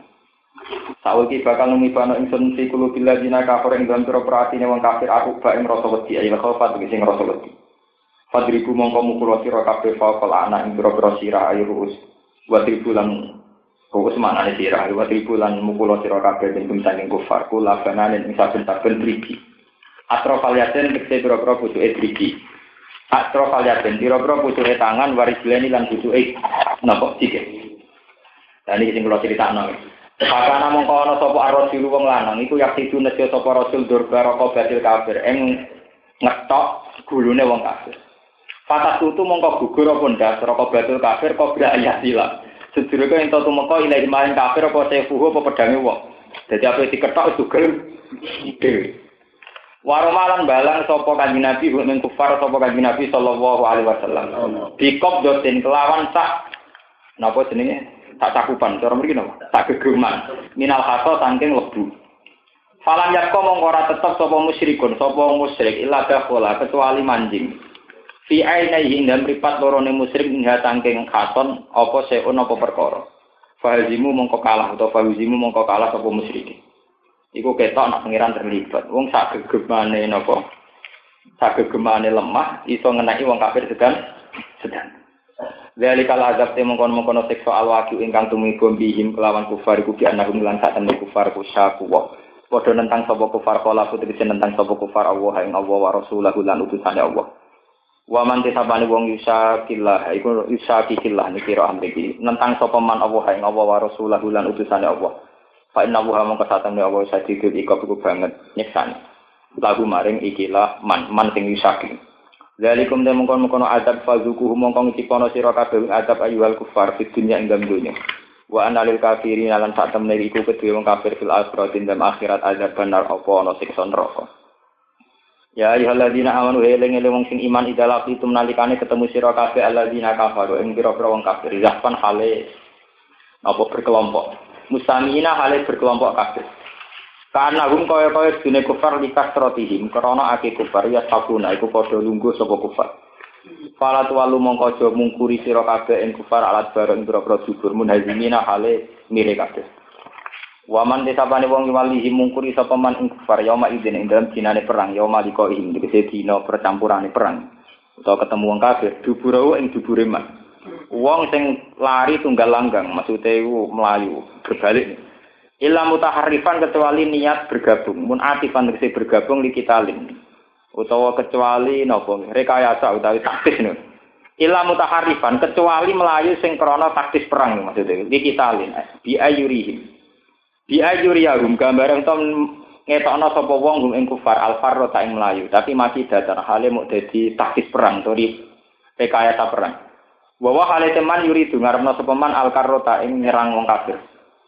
A: Saiki bakal numibano ingsun fi kulubil ladina kafir ing dalam pira-pira atine wong kafir aku ba ing rasa wedi ayo khofat sing rasa wedi. Fadribu mongko mukul sira kabeh faqal ana ing pira-pira sira ayo ruus. Wa tribulan ruus manane sira wa tribulan mukul sira kabeh ing saking kufar kula banane ing saben-saben triki. Atrofaliaten tekse pira-pira pucuke triki. Atrofaliaten pira-pira pucuke tangan warisleni lan pucuke napa sikil. Lah niki sing kula critakno. Pakana mongko ana sapa ar-rasul wong lanang iku yakti nejo sapa rasul durba roko batil kafir ing ngetok gulune wong kafir. Fatas tutu mongko gugur apa ndas roko batil kafir kobra ayatila. Sedurunge ento tumeka ilahi maring kafir apa sefuhu apa pedange wong. Dadi ape diketok sugel dhewe. Waromalan balang sapa kanjeng Nabi ing kufar sapa kanjeng Nabi sallallahu alaihi wasallam. Bikop doten kelawan sak napa jenenge? Tak cakupan, cara mriki napa? Tak gegeman. Minal haso saking lebu. Falam yakko mongko ora tetep sapa musyrikun, sapa musyrik illa dakhala kecuali manjing. Fi ainaihi ing dalem mripat lorone musyrik ing saking khaton apa seun apa perkara. Fahazimu mongko kalah utawa fahazimu mongko kalah sapa musyrik. Iku ketok nek pangeran terlibat. Wong sak gegemane napa? Sak gegemane lemah iso ngenaki wong kafir sedan sedan. Dari kala azab te mongkon-mongkon siksa alwaqi ingkang tumiba bihim kelawan kufar iku bi anahum lan sak temne kufar kusyaku wa padha nentang sapa kufar kala putri nentang sapa kufar Allah ing Allah wa rasulahu lan utusane Allah wa man tisabane wong yusakillah iku yusakillah niki ra amriki nentang sapa man Allah ing Allah wa rasulahu lan utusane Allah fa inna wa mongko sak temne Allah sadikut iku iku banget nyeksani lagu maring ikilah man man sing yusakil. Zalikum dan mengkon-mengkono adab fazukuhu mongkong cipono sira kabeh adab ayyuhal kufar fid dunya ing dalem donya. Wa analil kafirin lan sak temne iku kedue wong kafir fil akhirat ing dalem akhirat adab benar apa ana siksa neraka. Ya ayyuhalladzina amanu eling-eling wong sing iman idalak itu nalikane ketemu sira kabeh alladzina kafaru ing pira-pira wong kafir zahpan hale apa berkelompok. Mustamina hale berkelompok kabeh. Karena hum kaya-kaya dene kufar likas trotihim krana ake kufar ya sabuna iku padha lungguh sapa kufar. Fala tuwalu mongko aja mungkuri sira kabeh ing kufar alat bareng pira-pira jubur munhazimina hale mire kabeh. Waman desapane wong walihi mungkuri sapa man ing kufar yauma idzin ing dalem dinane perang yauma liqa'ihim dise dina percampurane perang utawa ketemu wong kafir duburawu ing dubure man. Wong sing lari tunggal langgang maksude iku mlayu berbalik. Illa mutaharrifan kecuali niat bergabung, mun atifan tegese bergabung li kitalin. Utawa kecuali napa rekayasa utawi taktis niku. Illa mutaharrifan kecuali melayu sing krana taktis perang maksudnya li kitalin. Bi ayurihim. Bi ayuriyahum gambaran to ngetokno sapa wong hum ing kufar al-farra ta ing melayu, tapi masih datar hale muk dadi taktis perang tori rekayasa perang. Wa hale teman yuri dungarna sapa man al-karrota ing nyerang wong kafir.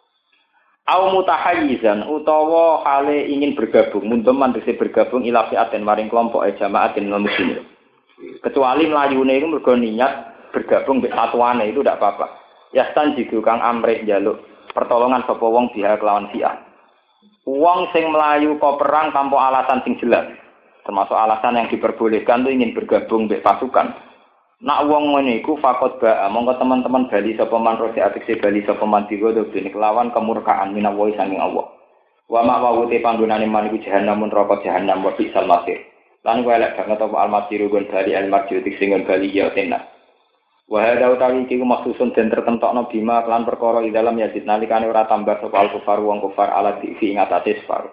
A: Au mutahayyizan utawa hale ingin bergabung munteman dise bergabung ila fi'atin maring kelompok e jamaatin muslimin. Kecuali mlayune iku mergo niat bergabung mek satuane itu ndak apa-apa. Yastan jidu kang amrih njaluk pertolongan sapa wong biha kelawan fi'ah. Wong sing mlayu kok perang tanpa alasan sing jelas. Termasuk alasan yang diperbolehkan itu ingin bergabung mek pasukan. Nak wong ngene iku fakot ba monggo teman-teman bali sapa man rosi atik bali sapa man digodho dene kelawan kemurkaan minawi saking Allah. Wa ma wawute panggonane man iku jahanam neraka jahanam wa bisal masir. Lan kuwi elek banget apa al-masir gon bali al-marji tik sing bali ya tenan. Wa hadza utawi iki maksusun den tertentokno bima lan perkara ing dalam yazid nalikane ora tambah sapa al-kufar wong kufar ala di ing atase sfar.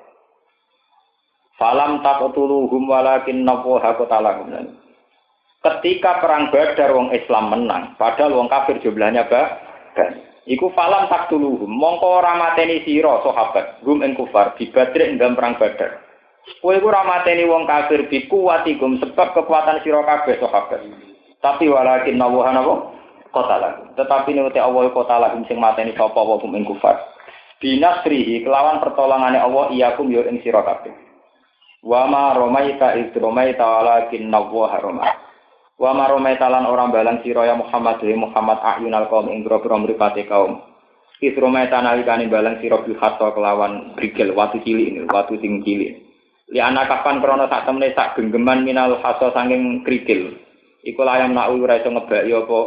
A: Falam taqtuluhum walakin nawaha qatalahum. Ketika perang Badar wong Islam menang, padahal wong kafir jumlahnya banyak. Iku falam taktuluhum, mongko ora mateni sira sahabat, hum ing kufar di Badr ing dalam perang Badar. Kowe iku ora mateni wong kafir bi kuwatikum sebab kekuatan sira kabeh sahabat. Tapi walakin nawaha napa? Qatalah. Tetapi nek Allah qatalah sing mateni sapa wong ing kufar. Binasrihi kelawan pertolongane Allah iyakum yo ing sira kabeh. Wa ma romaita iz romaita walakin nawaha romah. Wa maromaita lan orang balang sira ya Muhammad wa Muhammad ayunal qaum ing grobro mripate kaum. Isromaita nalikane balang sira bil hatta kelawan brigel watu cilik ini, watu sing cilik. Li ana kapan krana sak temne sak genggeman minal hatta saking krikil. Iku layam nak ora iso ngebaki apa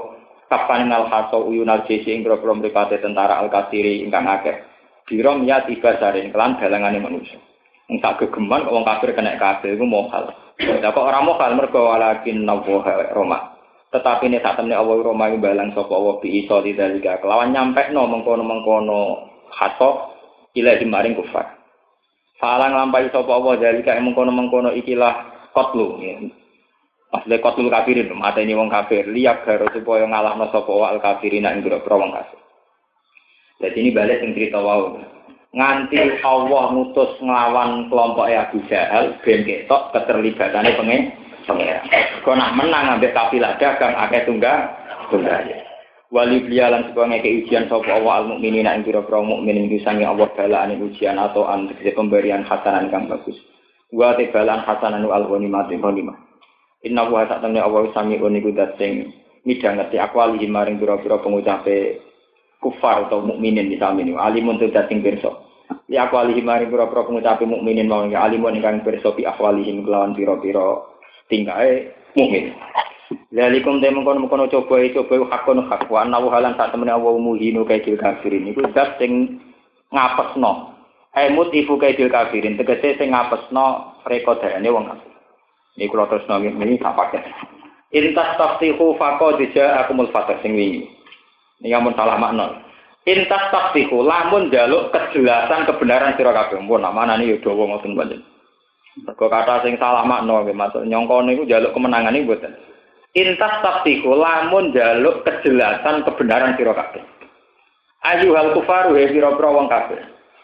A: kapan nal haso uyunal jesi ing grobro mripate tentara al-kasiri ingkang akeh dirom ya tiba saring kelan dalangane manusia ing sak gegeman wong kafir kena kabeh iku mohal lha kok ora mohal mergo walakin nawa Roma tetapi nek sak temne Allah Roma iki balang sapa Allah bi iso didalika kelawan nyampekno mengkono-mengkono haso ilahi maring kufar falang lampahi sapa Allah dalika mengkono-mengkono ikilah qatlu ya Asle kotul kafirin, mateni wong kafir, liyak garo supaya ngalahno sapa wal kafirina ing grobro wong kafir. Jadi ini balik sing cerita wau. Nganti Allah ngutus nglawan kelompok Abu Jahal ben ketok keterlibatane pengen pengen. Kok nak menang ambek kafilah dagang akeh tunggal tunggal. Wali blialan supaya ngeke ujian sapa Allah al mukminina ing grobro mukmin ing sange Allah balaane ujian atau antek pemberian hasanan kang bagus. Wa tibalan hasanan al ghanimah ghanimah. Inna wa ta'ala Allah sami niku dat sing midhangeti akwali maring pira-pira pengucape kufar atau mukminin di sami niku alimun tu dat sing pirsa. Li akwali maring pira-pira pengucape mukminin mau alimun ingkang pirsa bi akwali kelawan pira-pira tingkae mukmin. Lalikum te mengkono-mengkono coba coba hakon hak wa anna halan sak temene Allah muhinu kaidil kafirin niku dat sing ngapesno. Aimut ibu kaidil kafirin tegese sing ngapesno rekodane wong kafir. Ini kalau terus nongin ini tak pakai. Intas tafsihu faqad ja'akumul fatah sing wingi. Ini amun salah makna. Intas tafsihu lamun njaluk kejelasan kebenaran sira kabeh. Mun namane yo dawa ngoten panjen. Mergo kata sing salah makna nggih maksud nyangka niku njaluk kemenangan niku mboten. Intas tafsihu lamun njaluk kejelasan kebenaran sira kabeh. Ayyuhal kufaru he pira-pira wong kabeh.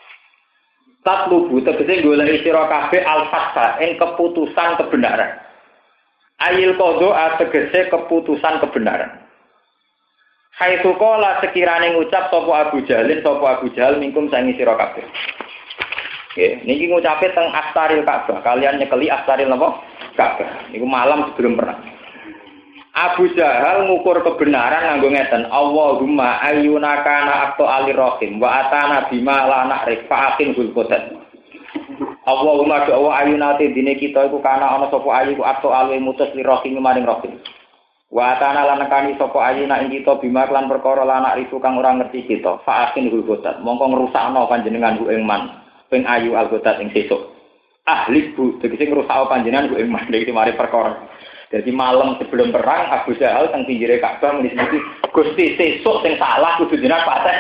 A: Tatlubu tegese golek sira kabeh al-fatha ing keputusan kebenaran. Ayil qadha tegese keputusan kebenaran. Haitsu qala sekirane ngucap sapa Abu Jalin sapa Abu Jahal mingkum sangi sira kabeh. Nggih, niki ngucape teng Astaril Ka'bah, kalian nyekeli Astaril napa? Ka'bah. Niku malam sebelum perang. Abu Jahal ngukur kebenaran nganggo ngeten, Allahumma ayyuna kana aqta alir rahim wa atana bima la na'rif fa'akin hul qudat. Allahumma doa ayyuna te dine kita iku kana ana sapa ayu ku aqta alwe mutus li rahim maring rahim. Wa atana lan nekani sapa ayyuna ing kita bima lan perkara la na'rif kang ora ngerti kita fa'akin hul qudat. Mongko ngrusakno panjenengan ku ing man ping ayu al qudat ing sesuk. Ahli bu tegese ngrusakno panjenengan ku ing man iki mari perkara. Jadi malam sebelum perang Abu Jahal teng pinggire Ka'bah mesti Gusti sesuk sing salah kudu jenengan pateh.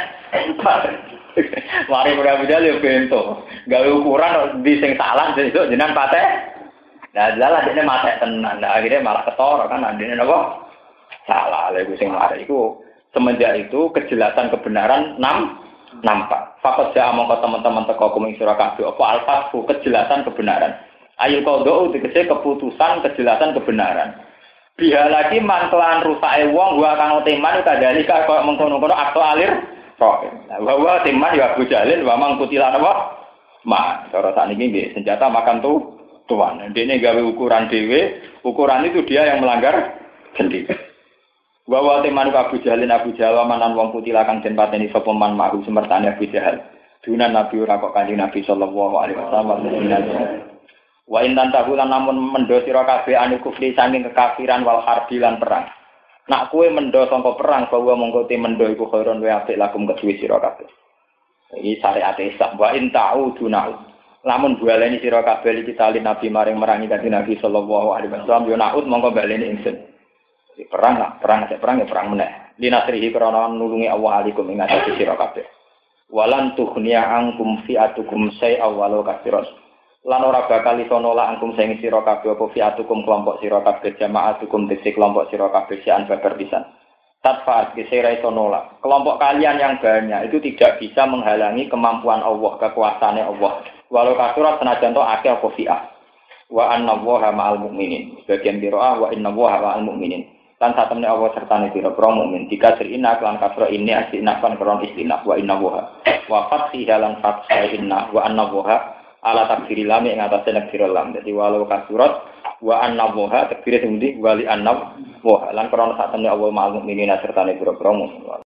A: Mari Abu Jahal yo bento. Gawe ukuran di sing salah sesuk jenengan pateh. Nah, dalah dene mate tenan. Nah, akhirnya malah ketara kan andene napa? Salah lha iku sing mari iku semenjak itu kejelasan kebenaran nam nampak. Fakat ja mongko teman-teman teko kuming sira kabeh apa al-fathu kejelasan kebenaran. Ayul qadha tegese keputusan kejelasan kebenaran. Biha lagi mangkelan rusake wong gua kang teman kadalika kaya mengkono-kono akto alir kok. Nah, bahwa teman ya Abu Jalil wa mang kutilan apa? Ma, cara sakniki nggih senjata makan tuh tuan. Dene gawe ukuran dhewe, ukuran itu dia yang melanggar sendiri. Bahwa teman Abu Jalil Abu Jalil manan wong kutilan kang den pateni sapa man mahu semertane Abu Jahal. Dunan Nabi ora kok Kanjeng Nabi sallallahu alaihi wasallam. Wa intan tahulan namun mendo sira kabeh anu kufri saking kekafiran wal harbi lan perang. Nak kowe mendo sangka perang bahwa mongko te mendo iku khairon wa apik lakum kedue sira kabeh. Iki syariat Islam wa in ta'uduna. Lamun baleni sira kabeh iki tali Nabi maring merangi Kanjeng Nabi sallallahu alaihi wasallam yo naud mongko baleni ingsun. Di perang lah, perang sik perang ya perang meneh. Linasrihi krana nulungi Allah alikum ing atase sira kabeh. Walan tughniya angkum fi'atukum say'a walau katsiran. Lan ora bakal iso nolak angkum sing sira kabeh apa fiatukum kelompok sira kabeh jamaatukum dise kelompok sira kabeh sian babar pisan. Tatfaat gesera iso nolak. Kelompok kalian yang banyak itu tidak bisa menghalangi kemampuan Allah, kekuasaane Allah. Walau kasurat senajan to akeh apa fi'ah. Wa annallaha ma'al mu'minin. Bagian qiraah wa innallaha ma'al mu'minin. Lan satemene Allah sertane pira-pira mukmin. Dikasir inna lan kasra ini asina kan kron istinaf wa innallaha. Wa fathi lan fathha inna wa annallaha ala takfiri lam ing atase nakfir lam. Dadi walau kasurat wa annallaha takfire sing ndi wali annallaha lan krana sak temne Allah ma'al mukminin sertane pira-pira mukmin.